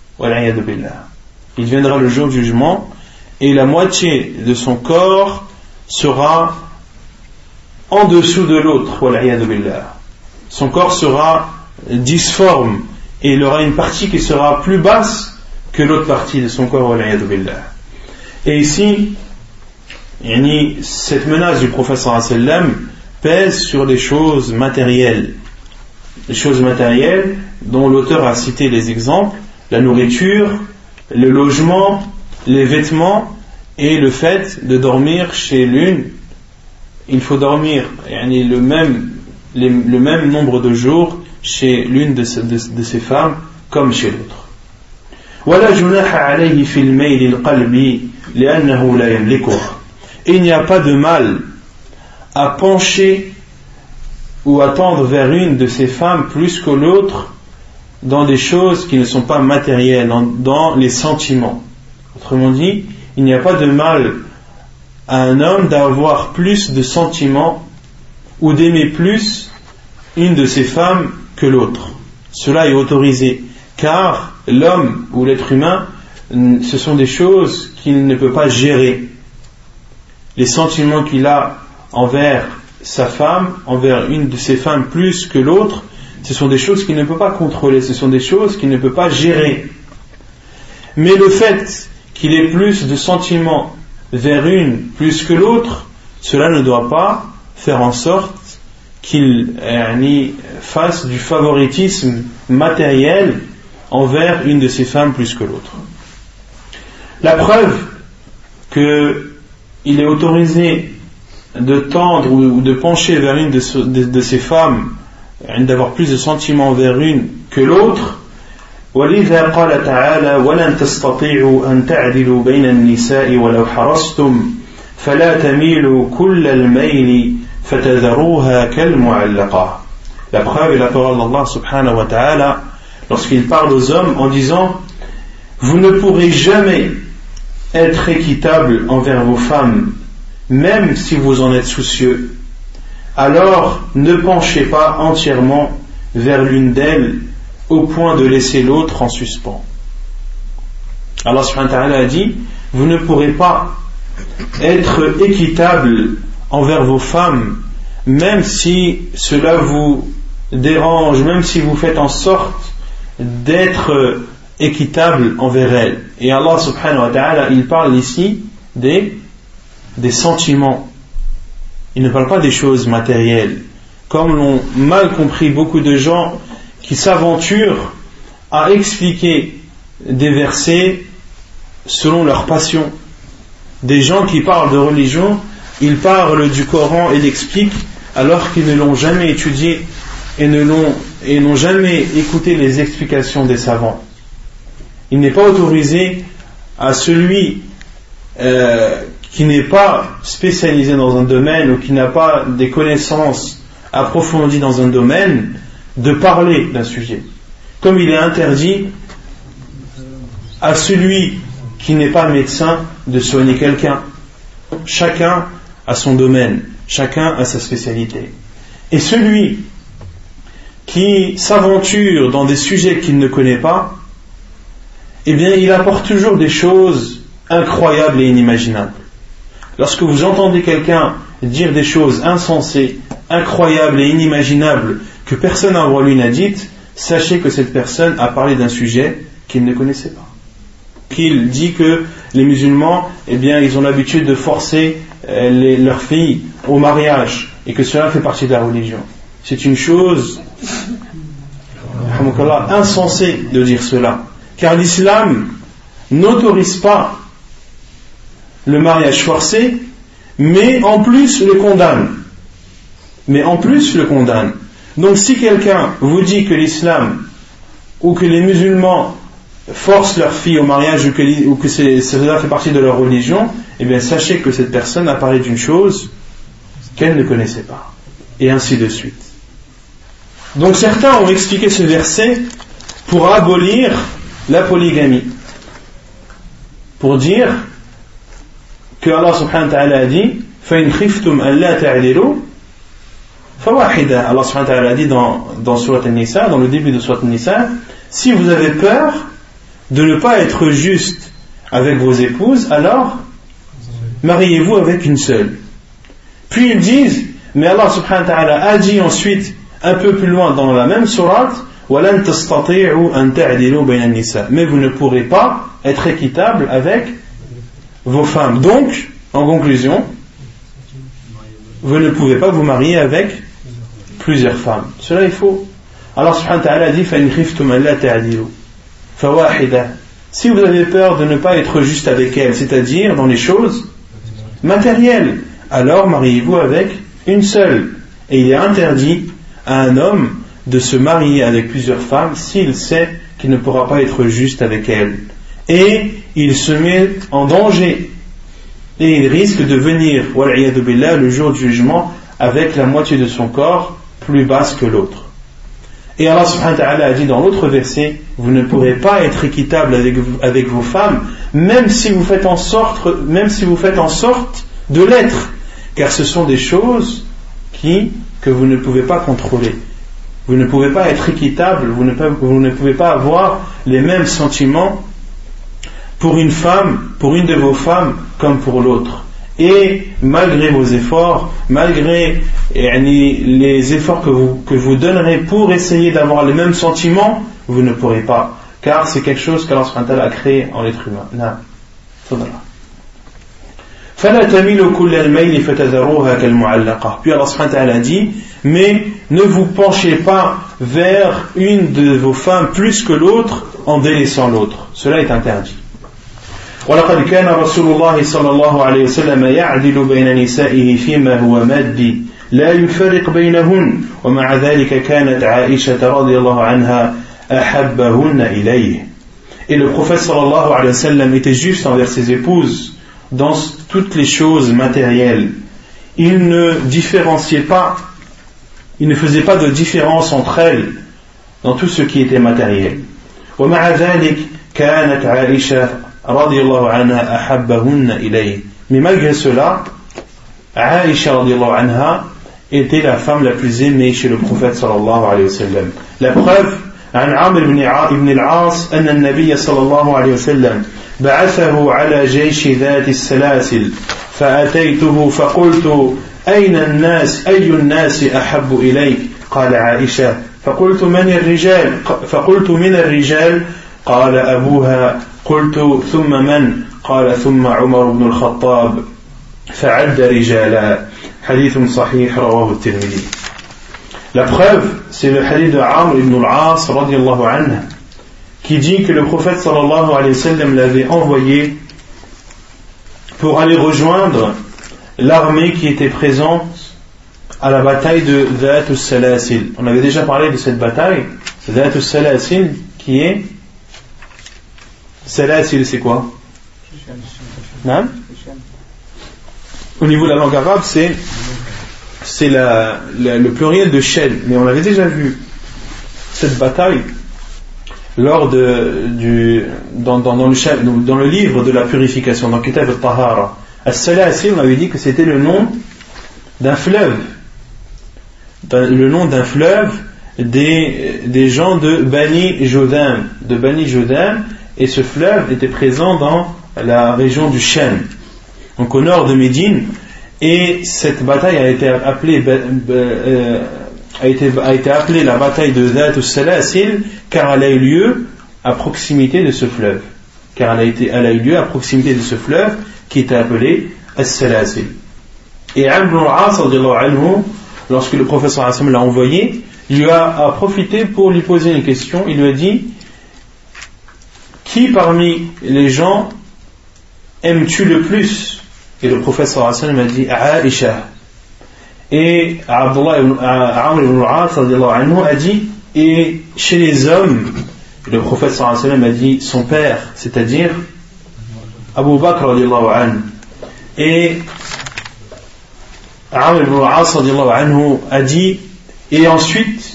Il viendra le jour du jugement et la moitié de son corps sera en dessous de l'autre. Son corps sera disforme et il aura une partie qui sera plus basse que l'autre partie de son corps. Et ici, cette menace du prophète sallallahu alayhi wa sallam pèse sur les choses matérielles. Les choses matérielles dont l'auteur a cité les exemples: la nourriture, le logement, les vêtements et le fait de dormir chez l'une. Il faut dormir le même nombre de jours chez l'une de ces femmes comme chez l'autre. Et il n'y a pas de mal à pencher ou à tendre vers une de ces femmes plus que l'autre dans des choses qui ne sont pas matérielles, dans les sentiments. Autrement dit, il n'y a pas de mal à un homme d'avoir plus de sentiments ou d'aimer plus une de ces femmes que l'autre. Cela est autorisé, car l'homme ou l'être humain, ce sont des choses qu'il ne peut pas gérer. Les sentiments qu'il a envers sa femme, envers une de ses femmes plus que l'autre, ce sont des choses qu'il ne peut pas contrôler, ce sont des choses qu'il ne peut pas gérer. Mais le fait qu'il ait plus de sentiments vers une plus que l'autre, cela ne doit pas faire en sorte qu'il fasse du favoritisme matériel envers une de ses femmes plus que l'autre. La preuve qu'il est autorisé de tendre ou de pencher vers une de ces femmes, d'avoir plus de sentiments vers une que l'autre, ولذا قال تعالى ولن تستطيعوا أن تعدلوا بين النساء ولو حرصتم فلا تميلوا كل الميل فتذروها كالمعلقة. La preuve est la parole d'Allah subhanahu wa ta'ala lorsqu'il parle aux hommes en disant: vous ne pourrez jamais être équitable envers vos femmes même si vous en êtes soucieux, alors ne penchez pas entièrement vers l'une d'elles au point de laisser l'autre en suspens. Allah subhanahu wa ta'ala a dit: vous ne pourrez pas être équitable envers vos femmes même si cela vous dérange, même si vous faites en sorte d'être équitable envers elles. Et Allah subhanahu wa ta'ala, il parle ici des sentiments. Il ne parle pas des choses matérielles, comme l'ont mal compris beaucoup de gens qui s'aventurent à expliquer des versets selon leur passion. Des gens qui parlent de religion, ils parlent du Coran et l'expliquent alors qu'ils ne l'ont jamais étudié et n'ont jamais écouté les explications des savants. il n'est pas autorisé à celui qui n'est pas spécialisé dans un domaine ou qui n'a pas des connaissances approfondies dans un domaine de parler d'un sujet. Comme il est interdit à celui qui n'est pas médecin de soigner quelqu'un. Chacun a son domaine, chacun a sa spécialité. Et celui qui s'aventure dans des sujets qu'il ne connaît pas, eh bien il apporte toujours des choses incroyables et inimaginables. Lorsque vous entendez quelqu'un dire des choses insensées, incroyables et inimaginables que personne avant lui n'a dites, sachez que cette personne a parlé d'un sujet qu'il ne connaissait pas. Qu'il dit que les musulmans, eh bien, ils ont l'habitude de forcer leurs filles au mariage et que cela fait partie de la religion. C'est une chose insensée de dire cela, car l'islam n'autorise pas le mariage forcé, mais en plus le condamne. Donc si quelqu'un vous dit que l'islam ou que les musulmans forcent leurs filles au mariage ou que cela fait partie de leur religion, eh bien sachez que cette personne a parlé d'une chose qu'elle ne connaissait pas, et ainsi de suite. Donc certains ont expliqué ce verset pour abolir la polygamie, pour dire que Allah subhanahu wa ta'ala a dit فَإِنْ خِفْتُمْ أَنْ لَا تَعْدِلُوا فَوَاحِدًا. Allah subhanahu wa ta'ala a dit dans Surat An-Nisa, dans le début de Surat An-Nisa, si vous avez peur de ne pas être juste avec vos épouses, alors mariez-vous avec une seule. Puis ils disent, mais Allah subhanahu wa ta'ala a dit ensuite, un peu plus loin dans la même sourate, وَلَنْ تَسْتَطِيعُوا أَنْ تَعْدِلُوا بَيْنَ النِّسَاءِ, mais vous ne pourrez pas être équitable avec vos femmes. Donc, en conclusion, vous ne pouvez pas vous marier avec plusieurs femmes. Cela est faux. Allah subhanahu wa ta'ala dit فَإِنْ خِفْتُمْ أَنْ لَا تَعْدِلُوا فَوَاحِدًا. Si vous avez peur de ne pas être juste avec elle, c'est-à-dire dans les choses matérielles, alors mariez-vous avec une seule. Et il est interdit à un homme de se marier avec plusieurs femmes s'il sait qu'il ne pourra pas être juste avec elles. Et il se met en danger. Et il risque de venir, wal'iyadu billah, le jour du jugement, avec la moitié de son corps plus basse que l'autre. Et Allah subhanahu wa ta'ala a dit dans l'autre verset, vous ne pourrez pas être équitable avec vos femmes, même si vous faites en sorte de l'être, car ce sont des choses que vous ne pouvez pas contrôler. Vous ne pouvez pas être équitable, vous ne pouvez pas avoir les mêmes sentiments pour une de vos femmes comme pour l'autre. Et malgré vos efforts, malgré les efforts que vous donnerez pour essayer d'avoir les mêmes sentiments, vous ne pourrez pas, car c'est quelque chose qu'Allah subhanahu wa ta'ala a créé en l'être humain. فَلَا تَمِيلُوا كُلَّ الْمَيْلِ فَتَذَرُوهَا كَالْمُعَلَّقَةِ. Puis Allah subhanahu wa ta'ala dit, mais ne vous penchez pas vers une de vos femmes plus que l'autre en délaissant l'autre. Cela est interdit. ولقد كان رسول الله صلى الله عليه وسلم يعدل بين نسائه فيما هو مادي لا يفرق بينهن ومع ذلك كانت عائشة رضي الله عنها أحبهن إليه. Et le prophète sallallahu alayhi wa sallam était juste envers ses épouses dans toutes les choses matérielles. Il ne différenciait pas, il ne faisait pas de différence entre elles dans tout ce qui était matériel. ومع ذلك كانت عائشة radiyallahu anha ahabbahunna ilayhi. Mais malgré cela, Aïcha radiyallahu anha était la femme la plus aimée chez le prophète sallallahu alayhi wa sallam. La preuve, عن عمرو بن العاص أن النبي صلى الله عليه وسلم بعثه على جيش ذات السلاسل فأتيته فقلت أين الناس أي الناس أحب إليك قال عائشة فقلت من الرجال قال أبوها قلت ثم من قال ثم عمر بن الخطاب فعد رجالا حديث صحيح رواه الترمذي. La preuve, c'est le hadith de Amr ibn al-As radiyallahu anhu qui dit que le prophète sallallahu alayhi wa sallam l'avait envoyé pour aller rejoindre l'armée qui était présente à la bataille de Dhat al-Salasil. On avait déjà parlé de cette bataille, Dhat al-Salasil, qui est Salasil, c'est quoi? Non? Au niveau de la langue arabe, c'est le pluriel de chaîne. Mais on avait déjà vu cette bataille lors dans le livre de la purification, dans Kitab al-Tahara. As-Salasil, on avait dit que c'était le nom d'un fleuve. Le nom d'un fleuve des gens de Bani Jodam. Et ce fleuve était présent dans la région du Shem, donc au nord de Médine, et cette bataille a été appelée la bataille de Dhat al-Salasil, car elle a eu lieu à proximité de ce fleuve, qui était appelé As-Salasil. Et Amr ibn al-As, lorsque le prophète sallallahu alayhi wa sallam l'a envoyé, il lui a profité pour lui poser une question. Il lui a dit: qui parmi les gens aimes-tu le plus? Et le prophète sallallahu alayhi wa sallam a dit: Aïcha. Et Amr ibn al-As a dit: et chez les hommes? Le prophète sallallahu alayhi wa sallam a dit: son père, c'est-à-dire Abu Bakr radiallahu anhu. Et Amr ibn al-As a dit: et ensuite,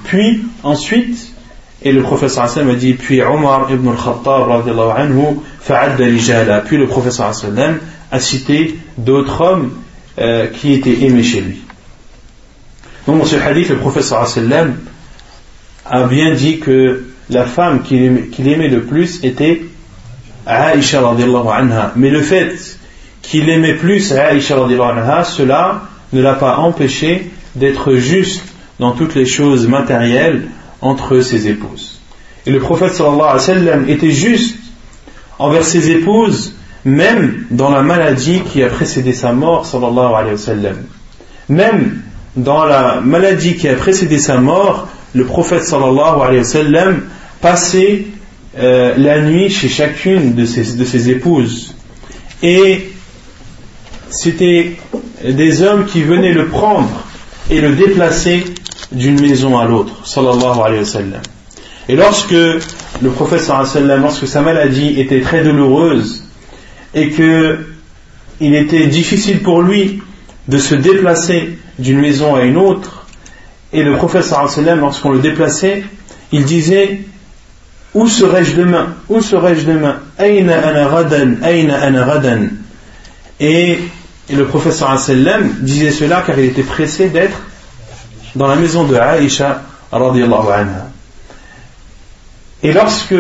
et le prophète sallallahu alayhi wa sallam a dit: puis Omar ibn al-Khattab radiallahu anhu fa'adda rijala. Puis le prophète sallallahu alayhi wa sallam a cité d'autres hommes qui étaient aimés chez lui. Donc dans ce hadith, le prophète sallallahu alayhi wa sallam a bien dit que la femme qu'il aimait le plus était Aïcha radiallahu anha. Mais le fait qu'il aimait plus Aïcha radiallahu anha, cela ne l'a pas empêché d'être juste dans toutes les choses matérielles entre ses épouses. Et le prophète sallallahu alayhi wa sallam était juste envers ses épouses, même dans la maladie qui a précédé sa mort, sallallahu alayhi wa sallam. Même dans la maladie qui a précédé sa mort, le prophète sallallahu alayhi wa sallam passait la nuit chez chacune de ses épouses. Et c'était des hommes qui venaient le prendre et le déplacer d'une maison à l'autre, sallallahu alayhi wa sallam. Et lorsque le prophète sallallahu alayhi wa sallam, lorsque sa maladie était très douloureuse et que il était difficile pour lui de se déplacer d'une maison à une autre, et le prophète sallallahu alayhi wa sallam, lorsqu'on le déplaçait, il disait: où serais-je demain? Aïna ana ghadan. Et le prophète sallallahu alayhi wa sallam disait cela car il était pressé d'être dans la maison de Aïcha radiyallahu anha. Et lorsque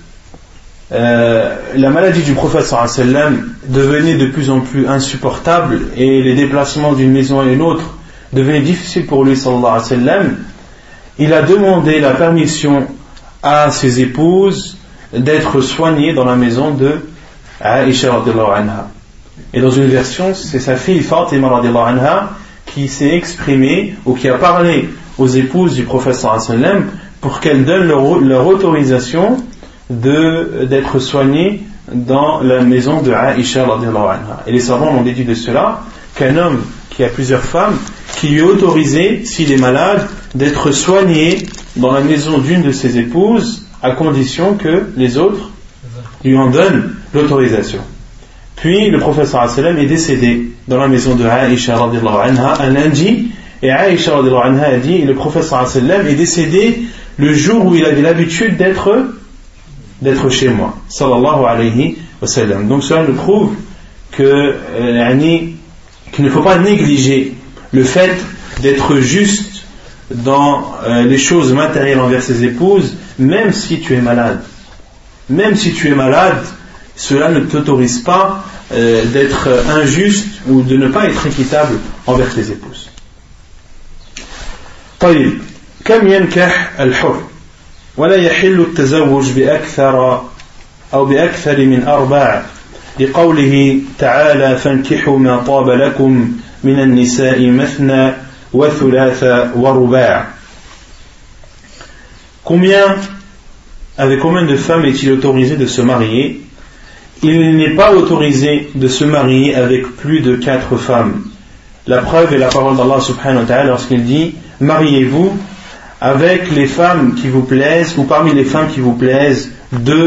la maladie du prophète sallallahu alayhi wa sallam devenait de plus en plus insupportable et les déplacements d'une maison à une autre devenaient difficiles pour lui sallallahu alayhi wa sallam, il a demandé la permission à ses épouses d'être soignées dans la maison de Aïcha radiyallahu anha. Et dans une version, c'est sa fille Fatima radiyallahu anha qui s'est exprimée ou qui a parlé aux épouses du prophète sallallahu alayhi wa sallam pour qu'elles donnent leur autorisation d'être soignées dans la maison de Aïcha radiyallahu anha. Et les savants ont déduit de cela qu'un homme qui a plusieurs femmes, qui lui est autorisé, s'il est malade, d'être soigné dans la maison d'une de ses épouses, à condition que les autres lui en donnent l'autorisation. Puis le prophète sallallahu alayhi wa sallam est décédé dans la maison de Aïcha radiyallahu anha un lundi, et Aïcha radiyallahu anha a dit: et le prophète sallallahu alayhi wa sallam est décédé le jour où il avait l'habitude d'être chez moi, sallallahu alayhi wa sallam. Donc cela nous prouve qu'il ne faut pas négliger le fait d'être juste dans les choses matérielles envers ses épouses, même si tu es malade. Même si tu es malade, cela ne t'autorise pas d'être injuste ou de ne pas être équitable envers tes épouses. طيب كم ينكح الحر ولا يحل التزوج بأكثر من 4 لقوله تعالى فانكحوا ما طاب لكم من النساء مثنى وثلاث ورباع. Avec combien de femmes est-il autorisé de se marier? Il n'est pas autorisé de se marier avec plus de 4 femmes. La preuve est la parole d'Allah subhanahu wa ta'ala lorsqu'il dit: mariez-vous avec les femmes qui vous plaisent, ou parmi les femmes qui vous plaisent, 2,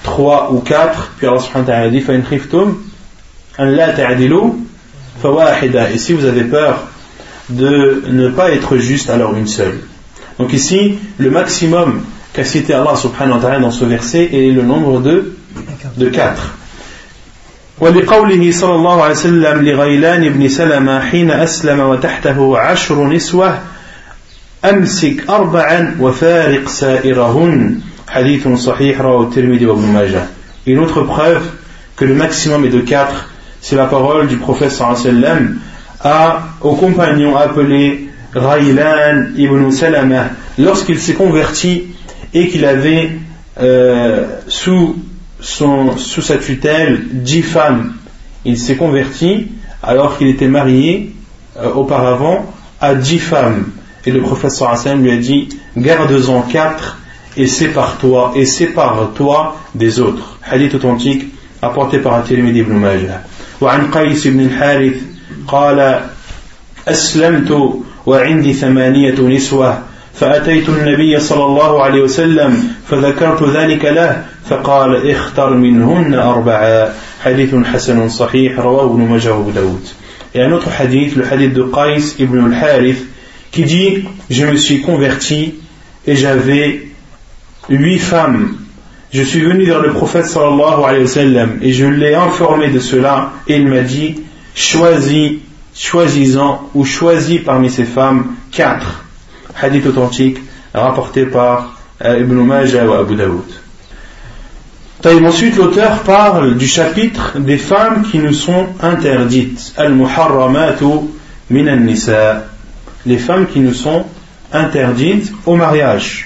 3 ou 4, puis Allah subhanahu wa ta'ala dit فَإِنْ خِفْتُمْ أَنْ لَا تَعْدِلُوا فَوَاحِدًا. Et si vous avez peur de ne pas être juste, alors une seule. Donc ici, le maximum qu'a cité Allah subhanahu wa ta'ala dans ce verset est le nombre de 4. ولقوله صلى الله عليه وسلم لغيلان بن سلمة حين أسلم وتحته 10 نسوة أمسك 4 وفارق سائرهن حديث صحيح رواه الترمذي وابن ماجه. Une autre preuve que le maximum est de 4, c'est la parole du prophète sallallahu alayhi wa sallam au compagnon appelé Ghaylan ibn Salama lorsqu'il s'est converti et qu'il avait sous sa tutelle 10 femmes. Il s'est converti alors qu'il était marié auparavant à 10 femmes. Et le prophète sallallahu alayhi wa sallam lui a dit garde-en 4 et sépare-toi des autres. Hadith authentique apporté par At-Tirmidhi ibn Majah. وعن قيس بن الحارث قال أسلمت وعندي 8 نسوة فأتيت النبي صلى الله عليه وسلم فذكرت ذلك له فقال اختر منهن 4 حديث حسن صحيح رواه ابن ماجه وابو داود. Et un autre hadith, le hadith de Qais ibn al-Harith qui dit je me suis converti et j'avais 8 femmes. Je suis venu vers le prophète sallallahu alayhi wa sallam et je l'ai informé de cela et il m'a dit choisis-en ou choisis parmi ces femmes 4. Hadith authentique rapporté par Ibn Majah ou Abu Daoud. Ensuite l'auteur parle du chapitre des femmes qui nous sont interdites. Al-Muharramatu min an-Nisa. Les femmes qui nous sont interdites au mariage.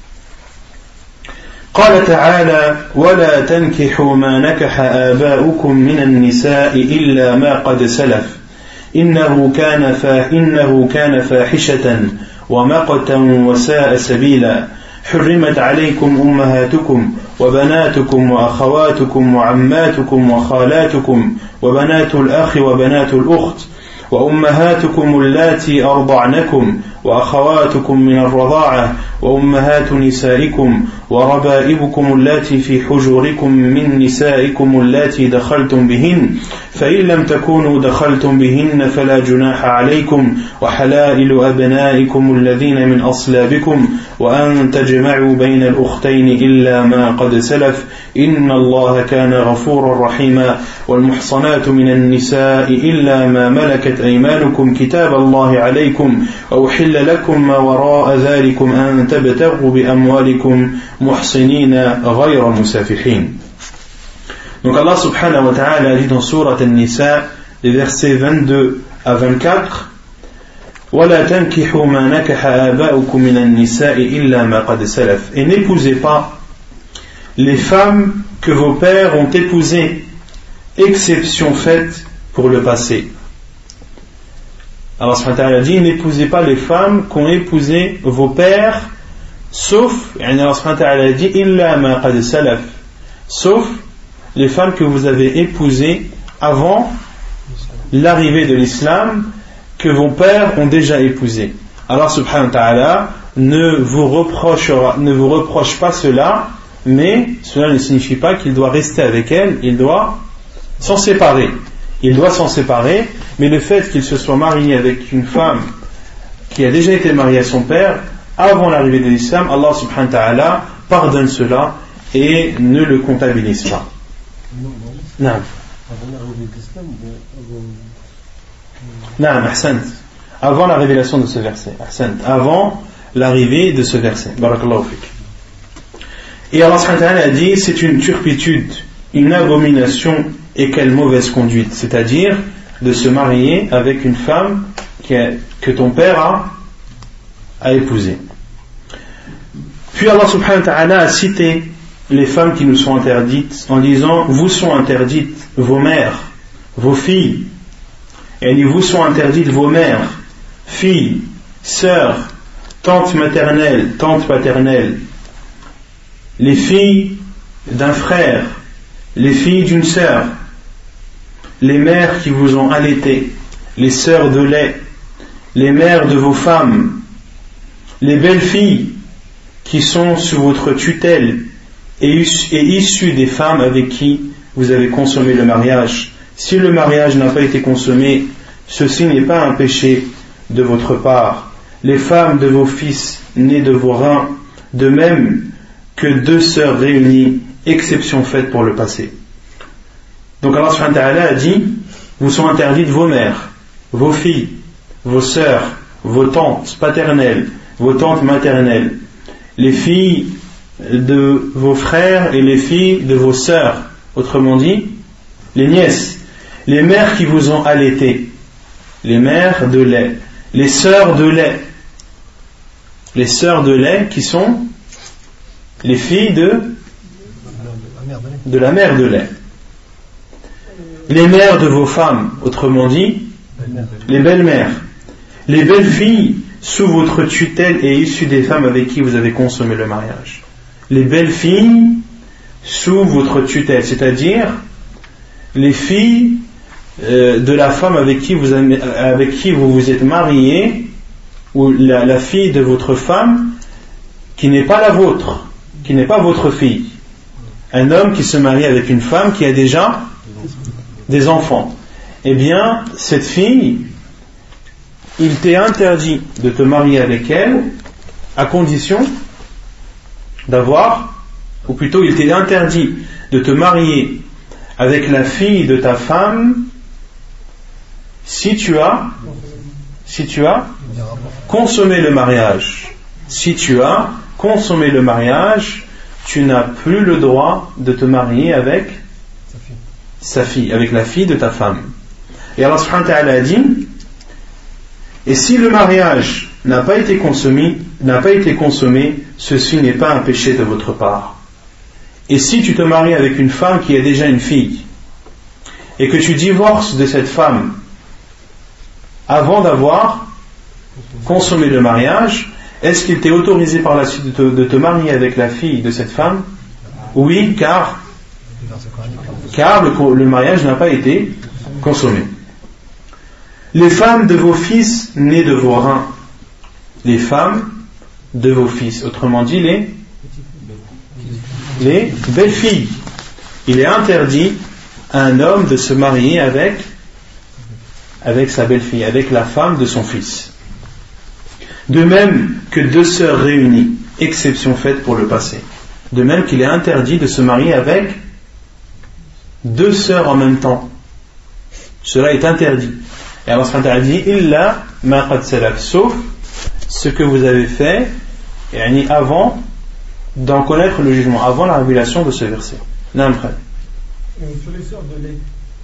قال تعالى ولا تنكحوا ما نكح آباؤكم من النساء إلا ما قد سلف إنه كان فاحشة ومقتا وساء سبيلا حرمت عليكم أمهاتكم وبناتكم وأخواتكم وعماتكم وخالاتكم وبنات الأخ وبنات الأخت وأمهاتكم اللاتي أرضعنكم وأخواتكم من الرضاعة وأمهات نسائكم وربائبكم اللاتي في حجوركم من نسائكم اللاتي دخلتم بهن فإن لم تكونوا دخلتم بهن فلا جناح عليكم وحلائل أبنائكم الذين من أصلابكم وأن تجمعوا بين الأختين إلا ما قد سلف إن الله كان غفورا رحيما والمحصنات من النساء إلا ما ملكت أيمانكم كتاب الله عليكم وأحل لكم ما وراء ذلكم أن تبتغوا بأموالكم محصنين غير مسافحين. Donc Allah subhanahu wa ta'ala dit dans Surat An-Nisa, les versets 22 à 24, وَلَا تَنْكِحُوا مَا نَكَحَ آبَاؤُكُم مِّنَ النِّسَاءِ إِلَّا مَا قَدْ سَلَفَ. Et n'épousez pas les femmes que vos pères ont épousées, exception faite pour le passé. Allah subhanahu wa ta'ala dit n'épousez pas les femmes qu'ont épousé vos pères, sauf, Allah subhanahu wa ta'ala dit illa ma qad salaf, sauf les femmes que vous avez épousées avant l'arrivée de l'islam, que vos pères ont déjà épousées. Allah subhanahu wa ta'ala ne vous reproche pas cela, mais cela ne signifie pas qu'il doit rester avec elles, il doit s'en séparer. Il doit s'en séparer, mais le fait qu'il se soit marié avec une femme qui a déjà été mariée à son père avant l'arrivée de l'islam, Allah subhanahu wa ta'ala pardonne cela et ne le comptabilise pas. Non. Non, ahsant. Avant la révélation de ce verset. Ahsant. Avant l'arrivée de ce verset. Barakallahu fik. Et Allah subhanahu wa ta'ala a dit c'est une turpitude, une abomination et quelle mauvaise conduite, c'est-à-dire de se marier avec une femme que ton père a épousée. Puis Allah subhanahu wa ta'ala a cité les femmes qui nous sont interdites en disant vous sont interdites vos mères, vos filles, et il dit vous sont interdites vos mères, filles, sœurs, tantes maternelles, tantes paternelles, les filles d'un frère, les filles d'une sœur, les mères qui vous ont allaité, les sœurs de lait, les mères de vos femmes, les belles filles qui sont sous votre tutelle est issu des femmes avec qui vous avez consommé le mariage. Si le mariage n'a pas été consommé, ceci n'est pas un péché de votre part. Les femmes de vos fils nés de vos reins, de même que deux sœurs réunies, exception faite pour le passé. Donc Allah subhanahu wa ta'ala a dit, vous sont interdites vos mères, vos filles, vos sœurs, vos tantes paternelles, vos tantes maternelles, les filles de vos frères et les filles de vos sœurs, autrement dit, les nièces, les mères qui vous ont allaité, les mères de lait, les sœurs de lait qui sont les filles de la mère de lait, les mères de vos femmes, autrement dit, les belles-mères, les belles-filles sous votre tutelle et issues des femmes avec qui vous avez consommé le mariage. Les belles-filles sous votre tutelle, c'est-à-dire les filles de la femme avec qui vous vous êtes marié, ou la fille de votre femme qui n'est pas la vôtre, qui n'est pas votre fille. Un homme qui se marie avec une femme qui a déjà des enfants. Eh bien, cette fille, il t'est interdit de te marier avec elle à condition d'avoir, ou plutôt il t'est interdit de te marier avec la fille de ta femme si tu as consommé le mariage. Si tu as consommé le mariage, tu n'as plus le droit de te marier avec sa fille, avec la fille de ta femme. Et Allah subhanahu wa ta'ala a dit, et si le mariage n'a pas été consommé, ceci n'est pas un péché de votre part. Et si tu te maries avec une femme qui a déjà une fille, et que tu divorces de cette femme avant d'avoir consommé le mariage, est-ce qu'il t'est autorisé par la suite de te marier avec la fille de cette femme? Oui, car le mariage n'a pas été consommé. Les femmes de vos fils nés de vos reins, les femmes de vos fils, autrement dit les belles filles. Il est interdit à un homme de se marier avec sa belle-fille, avec la femme de son fils. De même que deux sœurs réunies, exception faite pour le passé. De même qu'il est interdit de se marier avec deux sœurs en même temps. Cela est interdit. Et Allah subhanahu wa ta'ala dit, illa ma qad salaf, sauf ce que vous avez fait avant d'en connaître le jugement, avant la révélation de ce verset. Sur les sœurs de lait,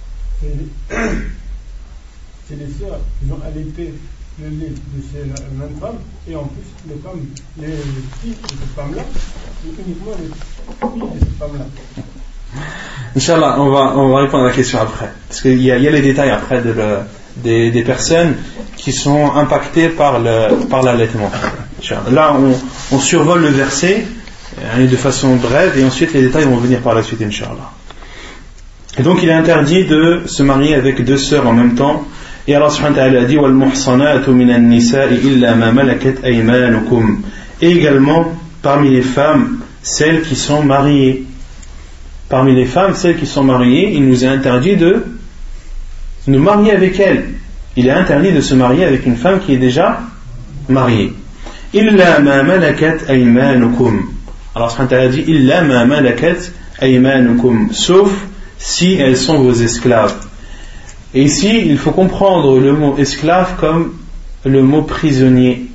c'est les sœurs qui ont allaité le lait de ces mêmes femmes, et en plus les filles de cette femme-là, c'est uniquement les filles de cette femme-là. Inch'Allah, on va répondre à la question après, parce qu'il y a les détails après des personnes qui sont impactées par l'allaitement. Là, on survole le verset de façon brève, et ensuite les détails vont venir par la suite, Inch'Allah. Et donc il est interdit de se marier avec deux sœurs en même temps. Et Allah subhanahu wa ta'ala a dit وَالْمُحْصَنَاتُ مِنَ النِّسَاءِ إِلَّا مَا مَلَكَتْ أَيْمَانُكُمْ. Et également parmi les femmes, celles qui sont mariées. Parmi les femmes, celles qui sont mariées, il nous est interdit de nous marier avec elles. Il est interdit de se marier avec une femme qui est déjà mariée. إِلَّا مَا مَلَكَتْ أَيْمَانُكُمْ. Allah subhanahu wa ta'ala dit إِلَّا مَا مَلَكَتْ أَيْمَانُكُمْ, sauf si elles sont vos esclaves. Et ici, il faut comprendre le mot esclave comme le mot prisonnier.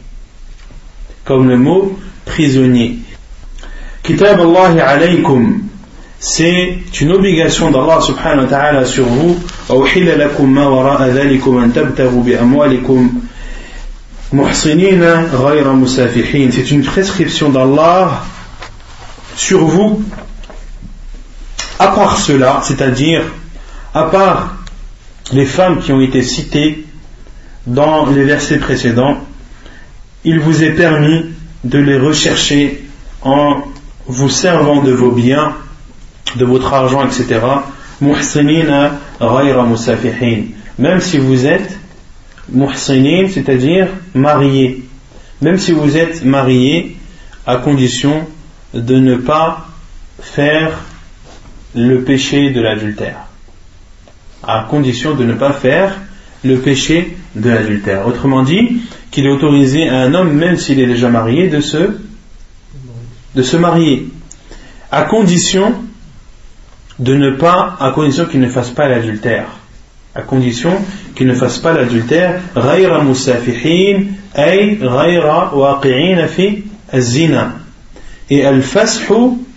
Kitab Allah alaykum, c'est une obligation d'Allah subhanahu wa ta'ala sur vous. وَأُحِلَّ لَكُمْ مَا وَرَاءَ ذَلِكُمْ أَن تَبْتَغُوا بِأَمْوَالِكُمْ مُحْصِنِينَ غَيْرَ مُسَافِحِينَ. C'est une prescription d'Allah sur vous. À part cela, c'est-à-dire à part les femmes qui ont été citées dans les versets précédents, il vous est permis de les rechercher en vous servant de vos biens, de votre argent, etc. muhsinina ghayra musafihin, même si vous êtes muhsinin, c'est-à-dire mariés, même si vous êtes mariés, à condition de ne pas faire le péché de l'adultère, à condition de ne pas faire le péché de l'adultère. Autrement dit, qu'il est autorisé à un homme, même s'il est déjà marié, de se marier, à condition qu'il ne fasse pas l'adultère. À condition qu'il ne fasse pas l'adultère. غير مسافحين أي غير واقعين في الزنا. Et al-fashu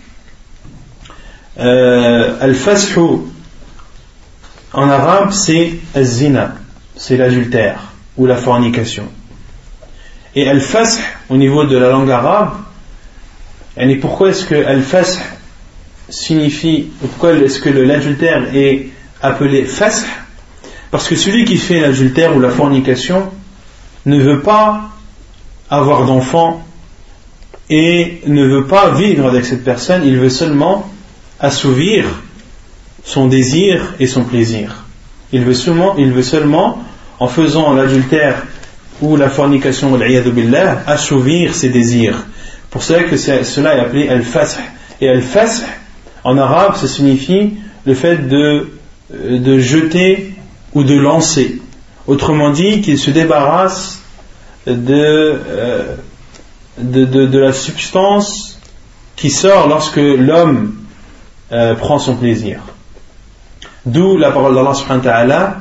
en arabe c'est al-zina, c'est l'adultère ou la fornication. Et al-fash au niveau de la langue arabe, et pourquoi est-ce que al-fash signifie, pourquoi est-ce que l'adultère est appelé fash? Parce que celui qui fait l'adultère ou la fornication ne veut pas avoir d'enfant et ne veut pas vivre avec cette personne, il veut seulement assouvir son désir et son plaisir. Il veut seulement en faisant l'adultère ou la fornication, wal-'iyadhu billah, assouvir ses désirs. Pour cela que cela est appelé al-fash. Et al-fash en arabe, ça signifie le fait de jeter ou de lancer. Autrement dit, qu'il se débarrasse de la substance qui sort lorsque l'homme prend son plaisir. D'où la parole d'Allah subhanahu wa ta'ala,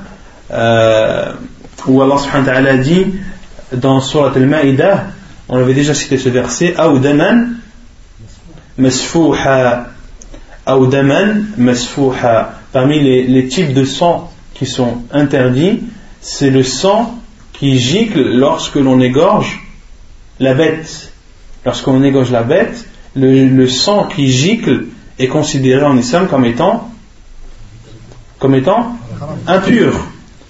où Allah subhanahu wa ta'ala dit dans Surat al-Ma'idah, on avait déjà cité ce verset, Aw daman masfouha. Aw daman masfouha. Parmi les types de sang qui sont interdits, c'est le sang qui gicle lorsque l'on égorge la bête. Lorsqu'on égorge la bête, le sang qui gicle est considéré en islam comme étant impur.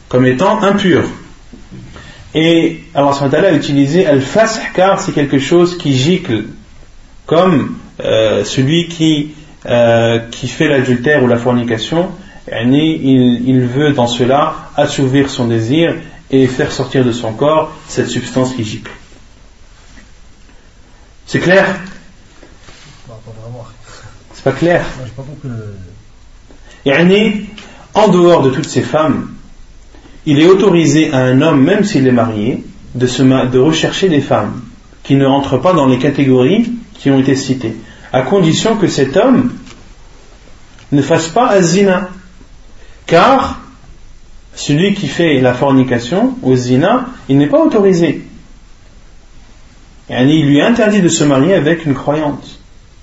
Et Allah subhanahu wa ta'ala a utilisé al-fash car c'est quelque chose qui gicle, comme celui qui fait l'adultère ou la fornication, il veut dans cela assouvir son désir et faire sortir de son corps cette substance qui gicle. C'est clair? C'est pas clair? En dehors de toutes ces femmes, il est autorisé à un homme, même s'il est marié, de rechercher des femmes qui ne rentrent pas dans les catégories qui ont été citées, à condition que cet homme ne fasse pas az-zina. Car celui qui fait la fornication ou zina, il n'est pas autorisé. Il lui est interdit de se marier avec une croyante.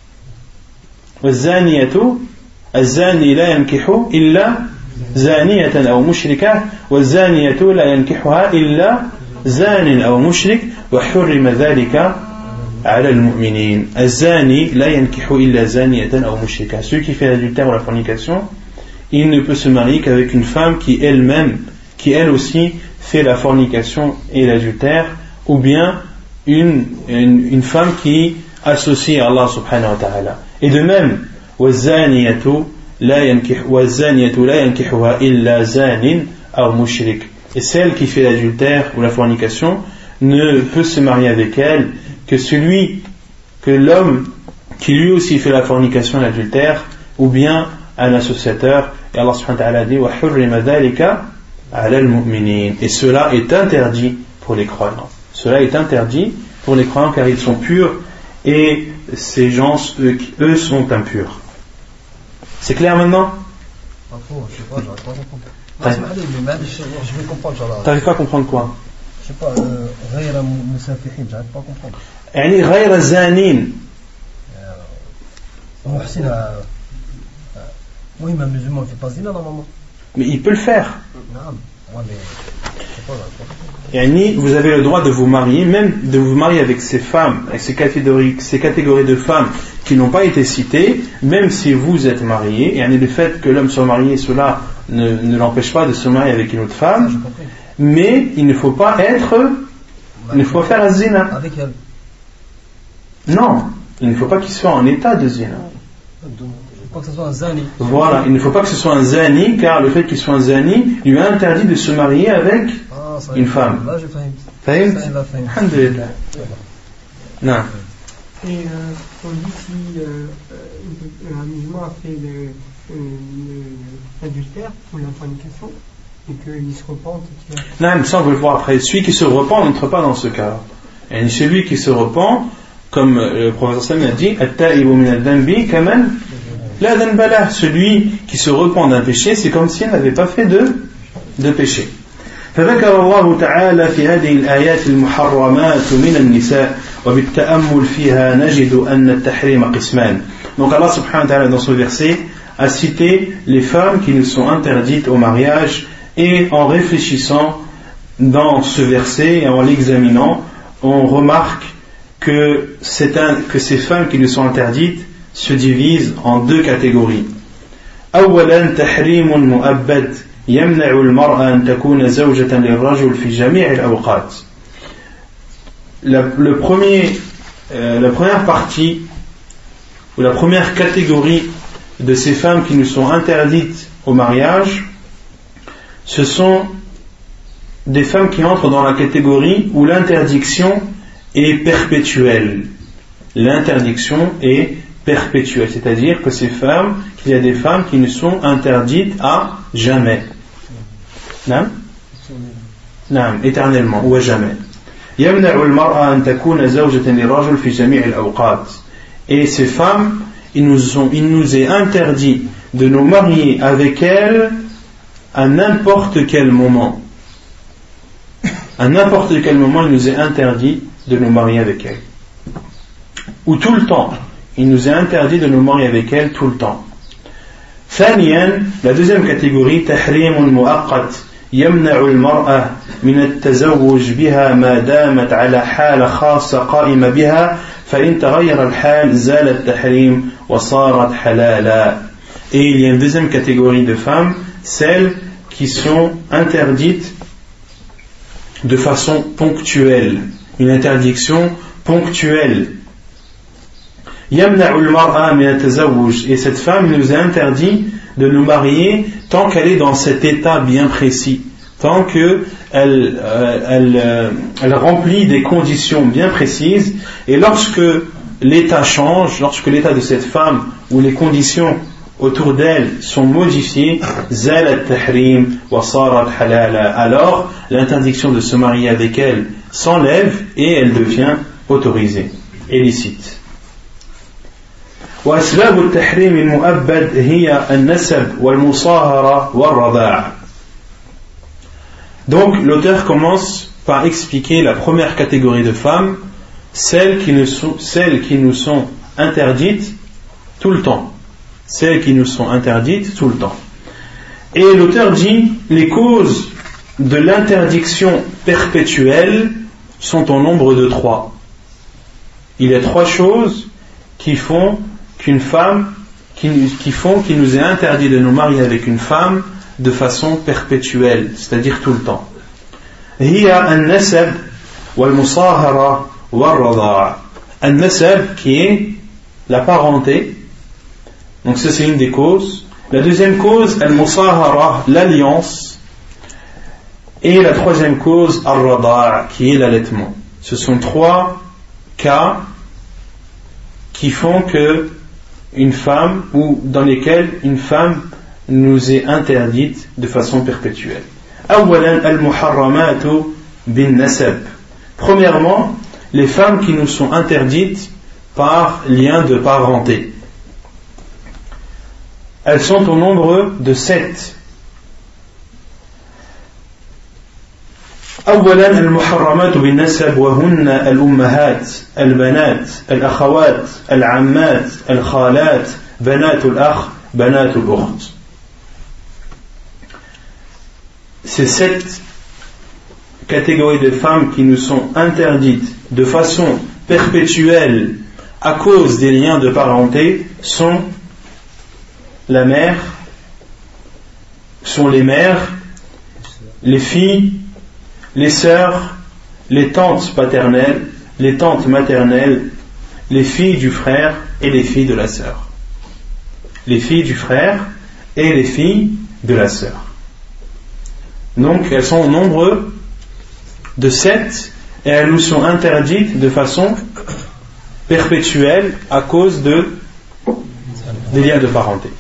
الزاني لا ينكح إلا زانية أو مشركة والزانية لا ينكحها إلا زان أو مشرك وحرم ذلك على المؤمنين. الزاني لا ينكح إلا زانية أو مشركة. Celui qui fait l'adultère ou la fornication, il ne peut se marier qu'avec une femme qui elle aussi fait la fornication et l'adultère, ou bien une femme qui associe à Allah subhanahu wa ta'ala. Et de même, وَالزَّانِيَةُ لَا يَنْكِحُهَا إِلَّا زَانٍ أَوْ مُشْرِكٍ. Et celle qui fait l'adultère ou la fornication ne peut se marier avec elle que l'homme qui lui aussi fait la fornication et l'adultère, ou bien un associateur. Et Allah subhanahu wa ta'ala dit وَحُرِّمَ ذَلِكَ عَلَى الْمُؤْمِنِينَ. Et cela est interdit pour les croyants. Cela est interdit pour les croyants car ils sont purs et ces gens, eux sont impurs. C'est clair maintenant? Je sais pas, j'arrive pas à comprendre. Je vais comprendre. T'arrives pas à comprendre quoi? Je sais pas, غير مسافحين, j'arrive pas à comprendre. يعني غير زانين. محسن. Oui, mais un musulman ne fait pas zina normalement. Mais il peut le faire. Non, ouais, mais je sais pas, j'arrive pas à comprendre. Yani, vous avez le droit de vous marier, même de vous marier avec ces femmes, avec ces catégories de femmes qui n'ont pas été citées, même si vous êtes marié. Et le fait que l'homme soit marié, cela ne l'empêche pas de se marier avec une autre femme. Mais il ne faut pas faire un zina. Avec elle. Non, il ne faut pas qu'il soit en état de zina. Il ne faut pas que ce soit un zani. Voilà, il ne faut pas que ce soit un zani, car le fait qu'il soit un zani lui a interdit de se marier avec une femme. Là, je fahim. Alhamdulillah. Non. Et on dit si un musulman a fait l'adultère ou la fornication et qu'il se repente. Non, ça on veut le voir après. Celui qui se repent n'entre pas dans ce cas. Et celui qui se repent, comme le prophète sallallahu alayhi wa sallam a dit, at-ta'ibu min ad-dambi kaman la dhanba lah. Celui qui se repent d'un péché, c'est comme s'il n'avait pas fait de péché. فذكر الله تعالى في هذه الآيات المحرمات من النساء وبالتأمل فيها نجد أن التحريم قسمان. Donc Allah subhanahu wa ta'ala dans ce verset a cité les femmes qui nous sont interdites au mariage, et en réfléchissant dans ce verset et en l'examinant, on remarque que ces femmes qui nous sont interdites se divisent en deux catégories. أولا تحريم مؤبد يمنع المرأة أن تكون زوجة للرجل في جميع الأوقات. La première partie ou la première catégorie de ces femmes qui nous sont interdites au mariage, ce sont des femmes qui entrent dans la catégorie où l'interdiction est perpétuelle. L'interdiction est perpétuelle, c'est-à-dire que qu'il y a des femmes qui nous sont interdites à jamais. Non, éternellement ou à jamais. Et ces femmes, il nous est interdit de nous marier avec elles à n'importe quel moment. À n'importe quel moment, il nous est interdit de nous marier avec elles. Ou tout le temps. Il nous est interdit de nous marier avec elles tout le temps. ثانيا, la deuxième catégorie, تحريم مؤقت يمنع المرأة من التزوج بها ما دامت على حالة خاصة قائمة بها فإن تغير الحال زال التحريم وصارت حلالا. Et il y a une deuxième catégorie de femmes, celles qui sont interdites de façon ponctuelle, une interdiction ponctuelle. يمنع المرأة من التزوج, et cette femme nous est interdit de nous marier tant qu'elle est dans cet état bien précis, tant qu'elle remplit des conditions bien précises, et lorsque l'état change, lorsque l'état de cette femme ou les conditions autour d'elle sont modifiées, زال التحريم وصارت حلالا, alors l'interdiction de se marier avec elle s'enlève et elle devient autorisée et licite. وأسباب التحريم المؤبد هي النسب والمصاهرة والرضاع. Donc l'auteur commence par expliquer la première catégorie de femmes, celles qui nous sont interdites tout le temps. Celles qui nous sont interdites tout le temps. Et l'auteur dit, les causes de l'interdiction perpétuelle sont au nombre de 3. Il y a 3 choses qui font qu'il nous est interdit de nous marier avec une femme de façon perpétuelle, c'est-à-dire tout le temps. هي النسب والمصاهرة والرضاع. النسب qui est la parenté, donc ça c'est une des causes. La deuxième cause, al-musahara, l'alliance. Et la troisième cause, al-rada' qui est l'allaitement. Ce sont 3 cas qui font que une femme, ou dans lesquels une femme nous est interdite de façon perpétuelle. أولاً المحرمات بالنسب. Premièrement, les femmes qui nous sont interdites par lien de parenté. Elles sont au nombre de 7. أولاً المحرمات بالنسب وهن الأمهات البنات الأخوات العمات الخالات بنات الأخ بنات الأخت. Ces 7 catégories de femmes qui nous sont interdites de façon perpétuelle à cause des liens de parenté sont la mère, sont les mères, les filles, les sœurs, les tantes paternelles, les tantes maternelles, les filles du frère et les filles de la sœur. Les filles du frère et les filles de la sœur. Donc elles sont au nombre de 7 et elles nous sont interdites de façon perpétuelle à cause des liens de parenté.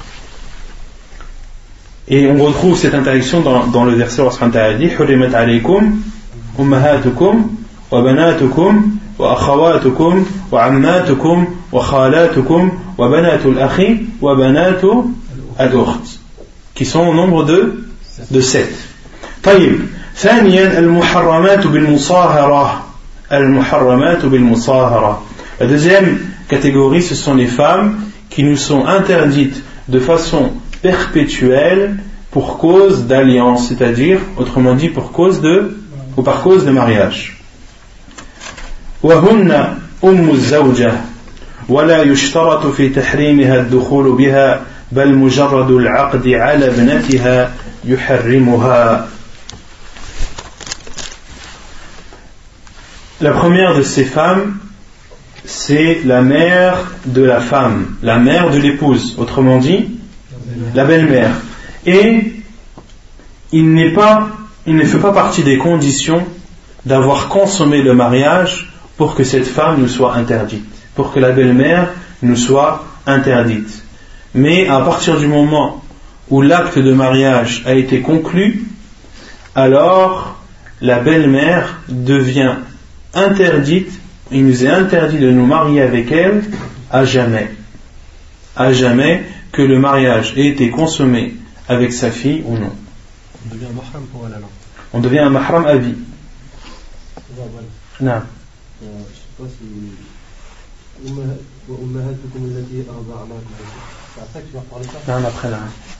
Et on retrouve cette interdiction dans le verset où Allah dit Hurrimat alaykum ummahatukum wa banatukum wa akhawatukum wa ammatukum wa khalatukum wa banatul akhi wa banatu al-ukht, qui sont au nombre de 7. طيب ثانيا المحرمات بالمصاهرة. المحرمات بالمصاهرة. La deuxième catégorie, ce sont les femmes qui nous sont interdites de façon perpétuelle pour cause d'alliance, c'est-à-dire, autrement dit, par cause de mariage. وهن أم الزوجة ولا يشترط في تحريمها الدخول بها بل مجرد العقد على ابنتها يحرمها. La première de ces femmes, c'est la mère de la femme, la mère de l'épouse, autrement dit, la belle-mère. Et il ne fait pas partie des conditions d'avoir consommé le mariage pour que cette femme nous soit interdite, pour que la belle-mère nous soit interdite. Mais à partir du moment où l'acte de mariage a été conclu, alors la belle-mère devient interdite. Il nous est interdit de nous marier avec elle à jamais. À jamais, que le mariage ait été consommé avec sa fille ou non. On devient un mahram pour elle alors. On devient un mahram à vie. Non. Je ne sais pas si ummahatukum allati arda'nakum. C'est après que tu vas reparler ça. Non, après là.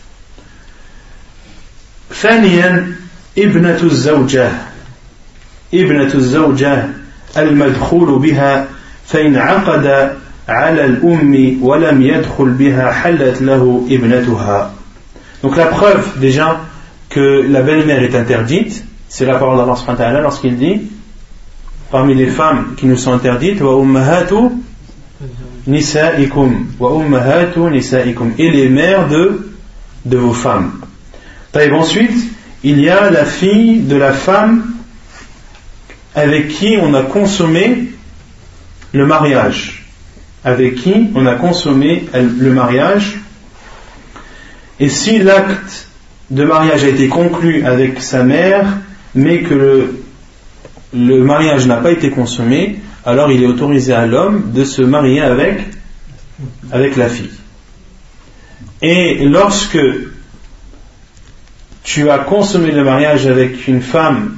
ثانيا ابنة الزوجة. ابنة الزوجة المدخول بها فإن عقد على الأم ولم يدخل بها حلت له ابنتها. Donc la preuve déjà que la belle-mère est interdite, c'est la parole d'Allah subhanahu wa ta'ala lorsqu'il dit parmi les femmes qui nous sont interdites wa ummahatu nisaikum wa ummahatu nisaikum, et les mères de vos femmes. Et ensuite il y a la fille de la femme avec qui on a consommé le mariage, avec qui on a consommé le mariage. Et si l'acte de mariage a été conclu avec sa mère mais que le mariage n'a pas été consommé, alors il est autorisé à l'homme de se marier avec la fille. Et lorsque tu as consommé le mariage avec une femme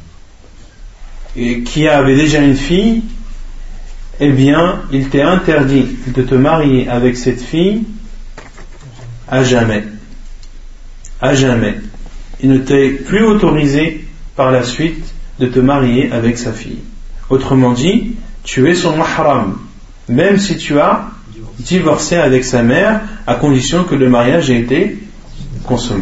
qui avait déjà une fille, eh bien, il t'est interdit de te marier avec cette fille à jamais. À jamais. Il ne t'est plus autorisé par la suite de te marier avec sa fille. Autrement dit, tu es son mahram, même si tu as divorcé avec sa mère, à condition que le mariage ait été consommé.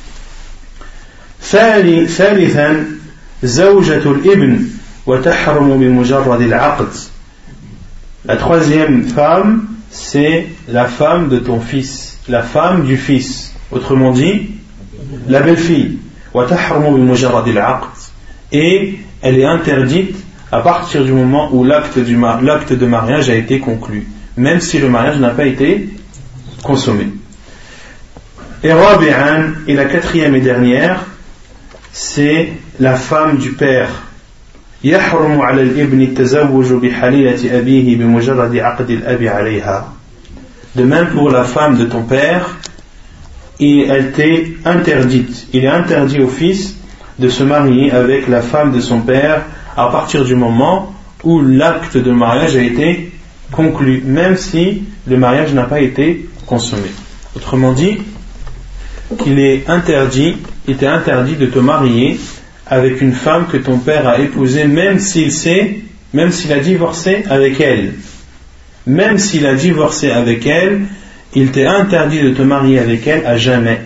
ثالثا زوجة الابن وتحرم بمجرد العقد. La troisième femme, c'est la femme de ton fils, la femme du fils, autrement dit la belle-fille. وتحرم بمجرد العقد, et elle est interdite à partir du moment où l'acte de mariage a été conclu, même si le mariage n'a pas été consommé. Et رابعا, et la quatrième et dernière, c'est la femme du père. يحرم على الابن التزوج بحليلة أبيه بمجرد عقد الأب عليها. De même pour la femme de ton père, elle t'est interdite. Il est interdit au fils de se marier avec la femme de son père à partir du moment où l'acte de mariage a été conclu, même si le mariage n'a pas été consommé. Autrement dit, il t'est interdit de te marier avec une femme que ton père a épousée, même s'il a divorcé avec elle. Même s'il a divorcé avec elle, il t'est interdit de te marier avec elle à jamais.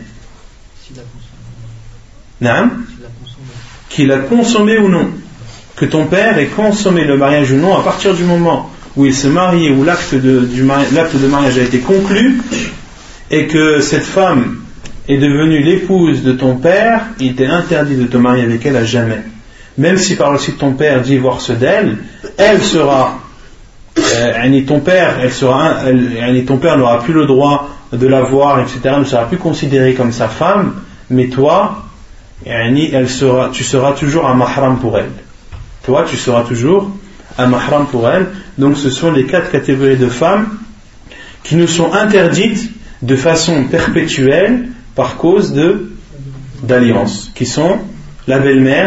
Qu'il a consommé ou non. Que ton père ait consommé le mariage ou non, à partir du moment où il s'est marié, où l'acte de mariage a été conclu, et que cette femme est devenue l'épouse de ton père, il t'est interdit de te marier avec elle à jamais. Même si par la suite ton père divorce d'elle, elle sera ton père n'aura plus le droit de la voir, etc., ne sera plus considérée comme sa femme, mais toi, tu seras toujours un mahram pour elle. Toi, tu seras toujours un mahram pour elle. Donc ce sont les 4 catégories de femmes qui nous sont interdites de façon perpétuelle par cause d'alliance, qui sont la belle-mère,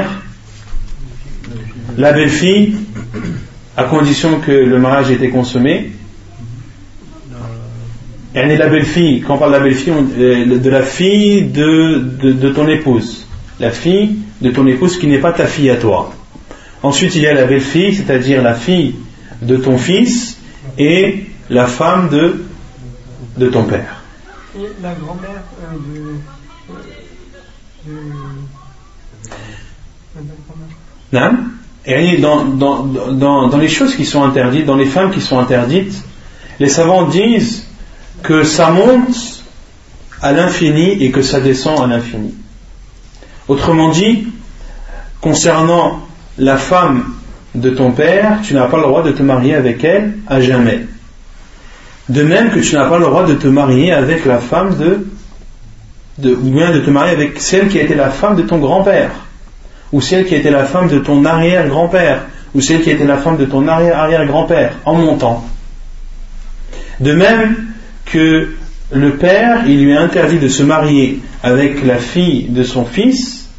la belle-fille, à condition que le mariage ait été consommé. Et la belle-fille, quand on parle de la belle-fille, de la fille de ton épouse, la fille de ton épouse qui n'est pas ta fille à toi. Ensuite, il y a la belle-fille, c'est-à-dire la fille de ton fils et la femme de ton père. Et la grand-mère Non. Et dans les choses qui sont interdites, dans les femmes qui sont interdites, les savants disent que ça monte à l'infini et que ça descend à l'infini. Autrement dit, concernant la femme de ton père, tu n'as pas le droit de te marier avec elle à jamais. De même que tu n'as pas le droit de te marier avec la femme ou bien de te marier avec celle qui a été la femme de ton grand-père, ou celle qui a été la femme de ton arrière-grand-père, ou celle qui a été la femme de ton arrière-arrière-grand-père, en montant. De même que le père, il lui est interdit de se marier avec la fille de son fils,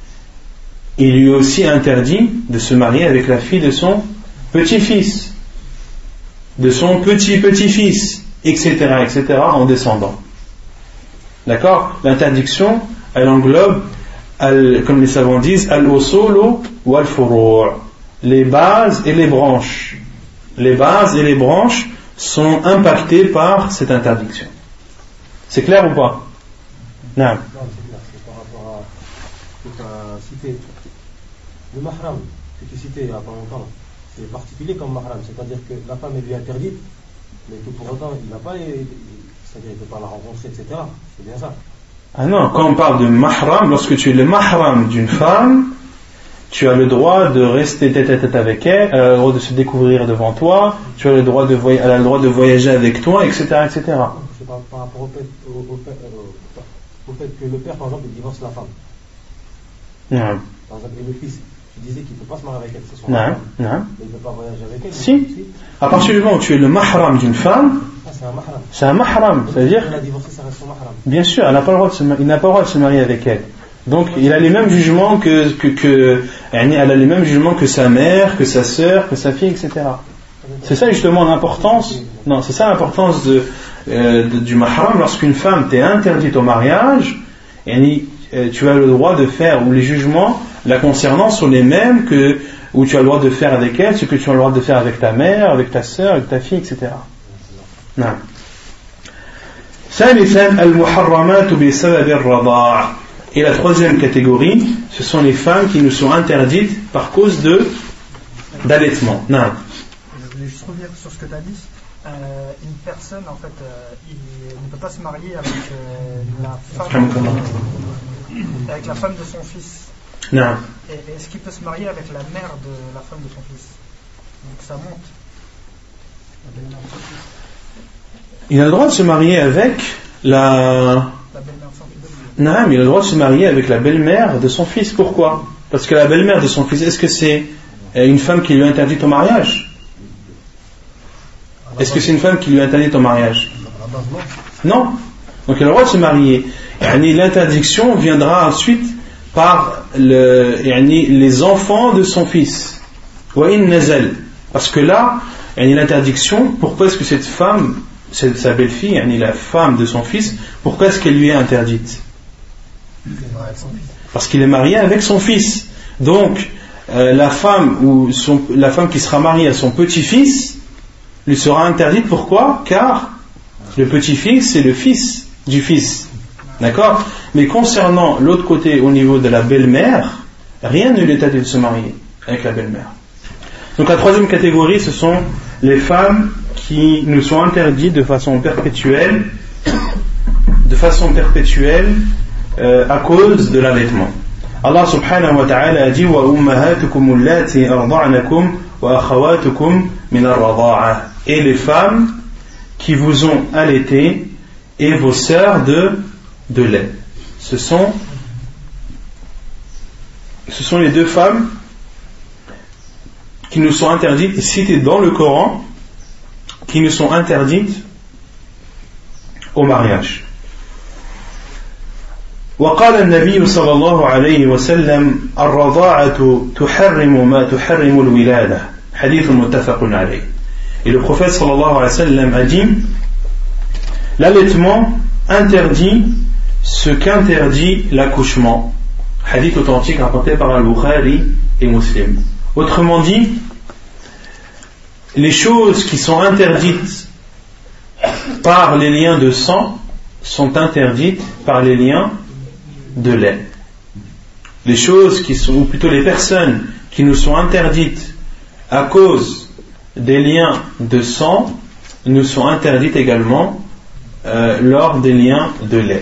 il lui est aussi interdit de se marier avec la fille de son petit-fils, de son petit-petit-fils, etc., etc., en descendant. D'accord ? L'interdiction, elle englobe, comme les savants disent, al-usulu wal-furu', les bases et les branches. Les bases et les branches sont impactées par cette interdiction. C'est clair ou pas ? Non. Non, c'est clair, c'est par rapport à ce que tu as cité. Le mahram que tu citais il n'y a pas longtemps, c'est particulier comme mahram, c'est-à-dire que la femme est lui interdite, mais que pour autant il n'a pas c'est-à-dire qu'il ne peut pas la rencontrer, etc. C'est bien ça. Ah non, quand on parle de mahram, lorsque tu es le mahram d'une femme, tu as le droit de rester tête à tête avec elle, elle a le droit de se découvrir devant toi, tu as le droit elle a le droit de voyager avec toi, etc., etc. C'est par rapport au fait que le père, par exemple, il divorce la femme. Non. Par exemple, et le fils, tu disais qu'il ne peut pas se marier avec elle, c'est son mahram. Non. Mais il ne peut pas voyager avec elle. Si. À partir du moment où tu es le mahram d'une femme, c'est un mahram. C'est un mahram, c'est-à-dire. Elle a divorcé, ça reste son mahram. Bien sûr, il n'a pas le droit de se marier avec elle. Donc, il a les mêmes jugements elle a les mêmes jugements que sa mère, que sa sœur, que sa fille, etc. C'est ça justement l'importance. Non, c'est ça l'importance du mahram. Lorsqu'une femme t'est interdite au mariage, tu as le droit de faire, ou les jugements la concernant sont les mêmes où tu as le droit de faire avec elle, ce que tu as le droit de faire avec ta mère, avec ta sœur, avec ta fille, etc. Non. ثالثا المحرمات بسبب الرضاع. Et la troisième catégorie, ce sont les femmes qui nous sont interdites par cause d'allaitement. Non. Je voulais juste revenir sur ce que tu as dit. Une personne, en fait, il ne peut pas se marier avec la femme de son fils. Non. Et est-ce qu'il peut se marier avec la mère de la femme de son fils? Donc ça monte. Il a le droit de se marier avec la belle-mère de son fils. Non, mais il a le droit de se marier avec la belle-mère de son fils. Pourquoi ? Parce que la belle-mère de son fils, est-ce que c'est une femme qui lui est interdite au mariage ? Est-ce que c'est une femme qui lui est interdite au mariage ? Non. Donc il a le droit de se marier. L'interdiction viendra ensuite par les enfants de son fils. Parce que là, l'interdiction, pourquoi est-ce que cette femme, sa belle-fille, la femme de son fils, pourquoi est-ce qu'elle lui est interdite ? Parce qu'il est marié avec son fils. Donc, la femme qui sera mariée à son petit-fils lui sera interdite. Pourquoi ? Car le petit-fils, c'est le fils du fils. D'accord ? Mais concernant l'autre côté, au niveau de la belle-mère, rien ne lui est interdit de se marier avec la belle-mère. Donc la troisième catégorie, ce sont les femmes qui nous sont interdites de façon perpétuelle à cause de l'allaitement. Allah subhanahu wa ta'ala a dit wa ummahatukum allati arda'nakum wa akhawatukum min ar-rada'ah, et les femmes qui vous ont allaité et vos sœurs de lait. Ce sont les deux femmes qui nous sont interdites, citées dans le Coran, qui nous sont interdites au mariage. وقال النبي صلى الله عليه وسلم الرضاعة تحرم ما تحرم الولادة حديث متفق عليه. Et le prophète sallallahu alayhi wa sallam a dit, l'allaitement interdit ce qu'interdit l'accouchement. Hadith authentique rapporté par Al-Bukhari et Muslim. Autrement dit, les choses qui sont interdites par les liens de sang sont interdites par les liens de lait. Les choses qui sont, ou plutôt les personnes qui nous sont interdites à cause des liens de sang, nous sont interdites également lors des liens de lait.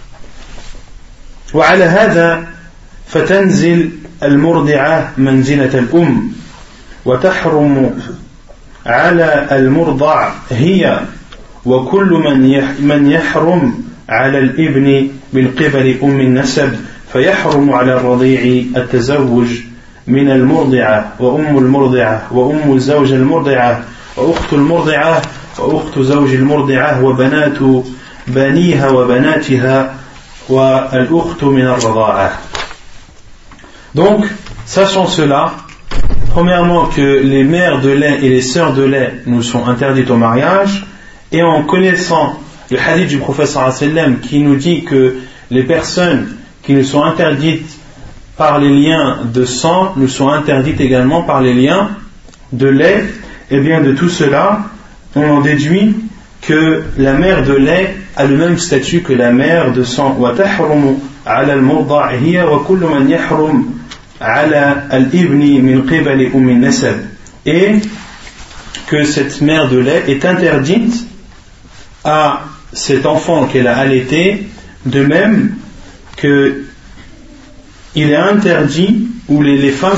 وعلى هذا فتنزل المرضعة منزلة الأم وتحرم على المرضع هي وكل من يحرم على الابن من قبل أم النسب فيحرم على الرضيع التزوج من المرضعة وأم المرضعة وأم زوج المرضعة وأخت المرضعة وأخت زوج المرضعة وبنات بنيها وبناتها والأخت من الرضاعة. Donc, sachant cela, premièrement que les mères de lait et les sœurs de lait nous sont interdites au mariage, et en connaissant le hadith du prophète sallallahu alayhi wa sallam qui nous dit que les personnes qui nous sont interdites par les liens de sang nous sont interdites également par les liens de lait, et bien de tout cela, on en déduit que la mère de lait a le même statut que la mère de sang. وَتَحْرُمُ عَلَى الْمُرْضَعِ هِيَ وَكُلُّ مَنْ يَحْرُمُ عَلَى الْإِبْنِ مِنْ قِبَلِ أُمِّ النَّسَبِ, et que cette mère de lait est interdite à cet enfant qu'elle a allaité, de même que il est interdit, ou les femmes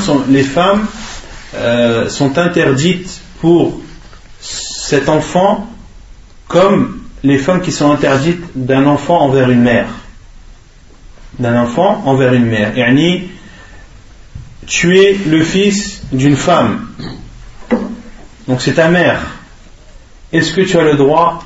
sont interdites pour cet enfant comme les femmes qui sont interdites d'un enfant envers une mère. D'un enfant envers une mère. Yani, tu es le fils d'une femme, donc c'est ta mère. Est-ce que tu as le droit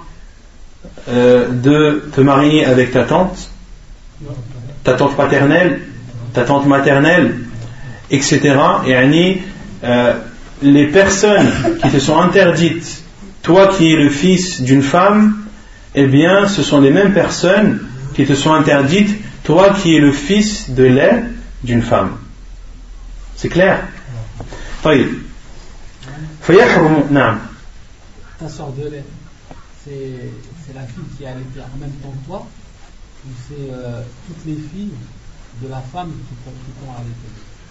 de te marier avec ta tante paternelle, ta tante maternelle, etc. Yani, les personnes qui te sont interdites, toi qui es le fils d'une femme, eh bien ce sont les mêmes personnes qui te sont interdites, toi qui es le fils de lait d'une femme. C'est clair? طيب. فيحرم. نعم. Ta sœur de lait, c'est la fille qui a allaité en même temps que toi, ou c'est toutes les filles de la femme qui t'ont allaité?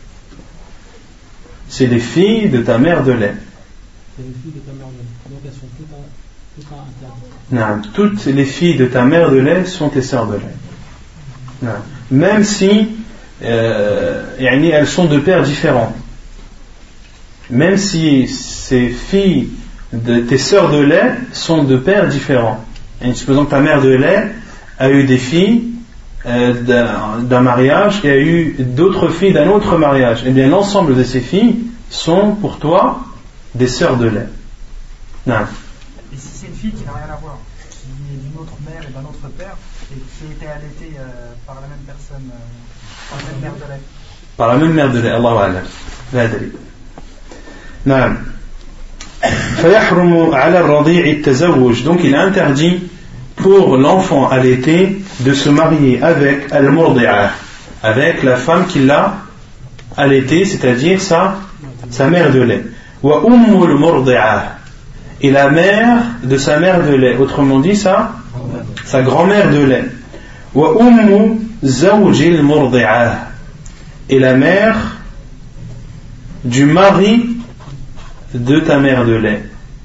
C'est les filles de ta mère de lait. C'est les filles de ta mère de lait. Donc elles sont toutes interdites. Non, toutes les filles de ta mère de lait sont tes sœurs de lait. Non. Même si elles sont de pères différents. Même si ces filles de tes sœurs de lait sont de pères différents. Et supposons que ta mère de lait a eu des filles d'un mariage et a eu d'autres filles d'un autre mariage. Eh bien l'ensemble de ces filles sont pour toi des sœurs de lait. Non. Et si c'est une fille qui n'a rien à voir, qui est d'une autre mère et d'un autre père, et qui a été allaitée par la même personne, par la même mère de lait? Par la même mère de lait, Allahu a'lam. La adri. Non. فيحرم على الرضيع التزوج. Donc il est interdit pour l'enfant allaité de se marier avec al-murdi'a, avec la femme qui l'a allaité, c'est-à-dire sa mère de lait. Wa ummul murdi'a, et la mère de sa mère de lait, autrement dit sa grand-mère de lait. Wa ummu zawjil murdi'a, et la mère du mari de ta mère de lait.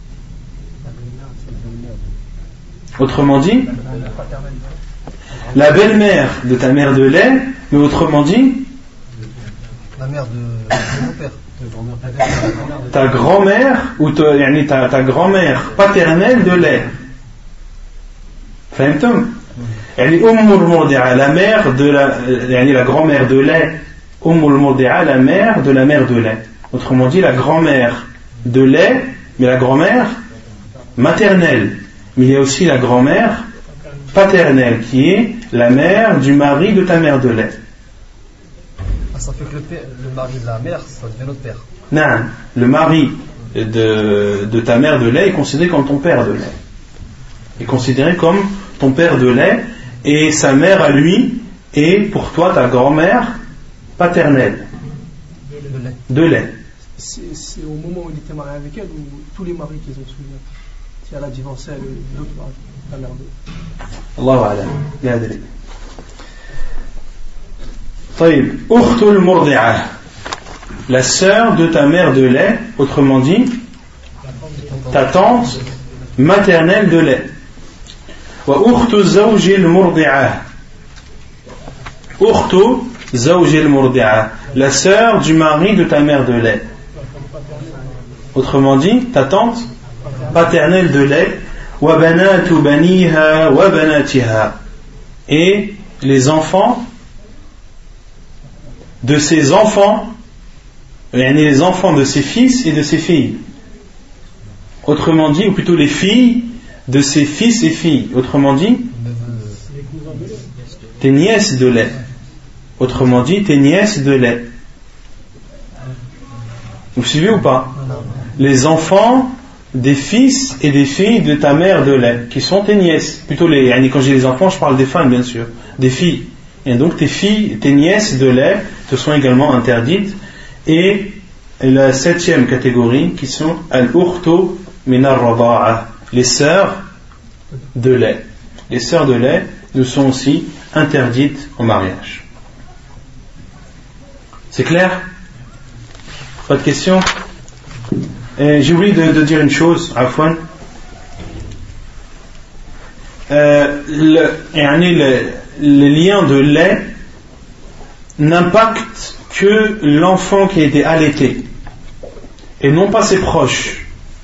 Autrement dit, la belle-mère de ta mère de lait, mais autrement dit, mère de mon père. Ta grand-mère ou ta grand-mère paternelle de lait. فهمتم؟ يعني أم المرضعة, la mère de la grand-mère de lait. أم المرضعة, la mère de lait. Autrement dit, la grand-mère de lait, mais la grand-mère maternelle. Mais il y a aussi la grand-mère paternelle, qui est la mère du mari de ta mère de lait. Ça fait que le mari de la mère, ça devient notre père. Non, le mari de ta mère de lait est considéré comme ton père de lait. Est considéré comme ton père de lait, et sa mère à lui est pour toi ta grand-mère paternelle de lait. C'est au moment où il était marié avec elle ou tous les maris qu'ils ont suivis. Si elle a divorcé, l'autre mari, la mère de. Allahu a'lam, la adri. طيب, أخت المرضعة, la sœur de ta mère de lait, autrement dit, ta tante maternelle de lait. Wa ukhtu zawji al-murdi'a, ukhtu zawji al-murdi'a, la sœur du mari de ta mère de lait. Autrement dit, ta tante paternelle de lait. Wa banatu baniha wa banatiha, et les enfants de ses enfants, les enfants de ses fils et de ses filles. Autrement dit, ou plutôt les filles de ses fils et filles. Autrement dit, tes nièces de lait. Autrement dit, tes nièces de lait. Vous suivez ou pas? Les enfants des fils et des filles de ta mère de lait, qui sont tes nièces. Plutôt quand j'ai les enfants, je parle des femmes, bien sûr, des filles. Et donc tes filles, tes nièces de lait te sont également interdites. Et la 7e catégorie, qui sont al-ukhtu min ar-rada'a, les sœurs de lait. Les sœurs de lait nous sont aussi interdites au mariage. C'est clair? Pas de questions? J'ai oublié de dire une chose, Afwan. Les liens de lait n'impactent que l'enfant qui a été allaité et non pas ses proches.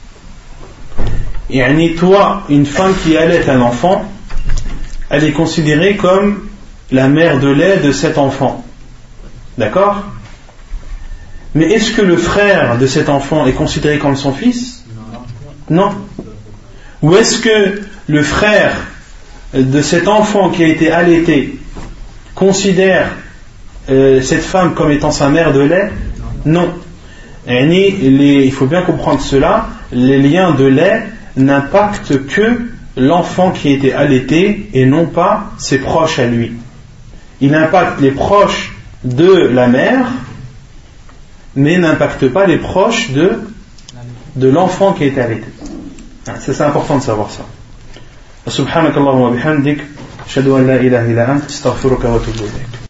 Et toi, une femme qui allaite un enfant, elle est considérée comme la mère de lait de cet enfant. D'accord? Mais est-ce que le frère de cet enfant est considéré comme son fils? Non. Ou est-ce que le frère de cet enfant qui a été allaité considère cette femme comme étant sa mère de lait? Non. Il faut bien comprendre cela. Les liens de lait n'impactent que l'enfant qui a été allaité et non pas ses proches à lui. Il impacte les proches de la mère, mais n'impacte pas les proches de l'enfant qui a été allaité. C'est important de savoir ça. Subhanakallahumma wa bihamdik, ashhadu an la ilaha illa anta, astaghfiruka wa atubu ilayk.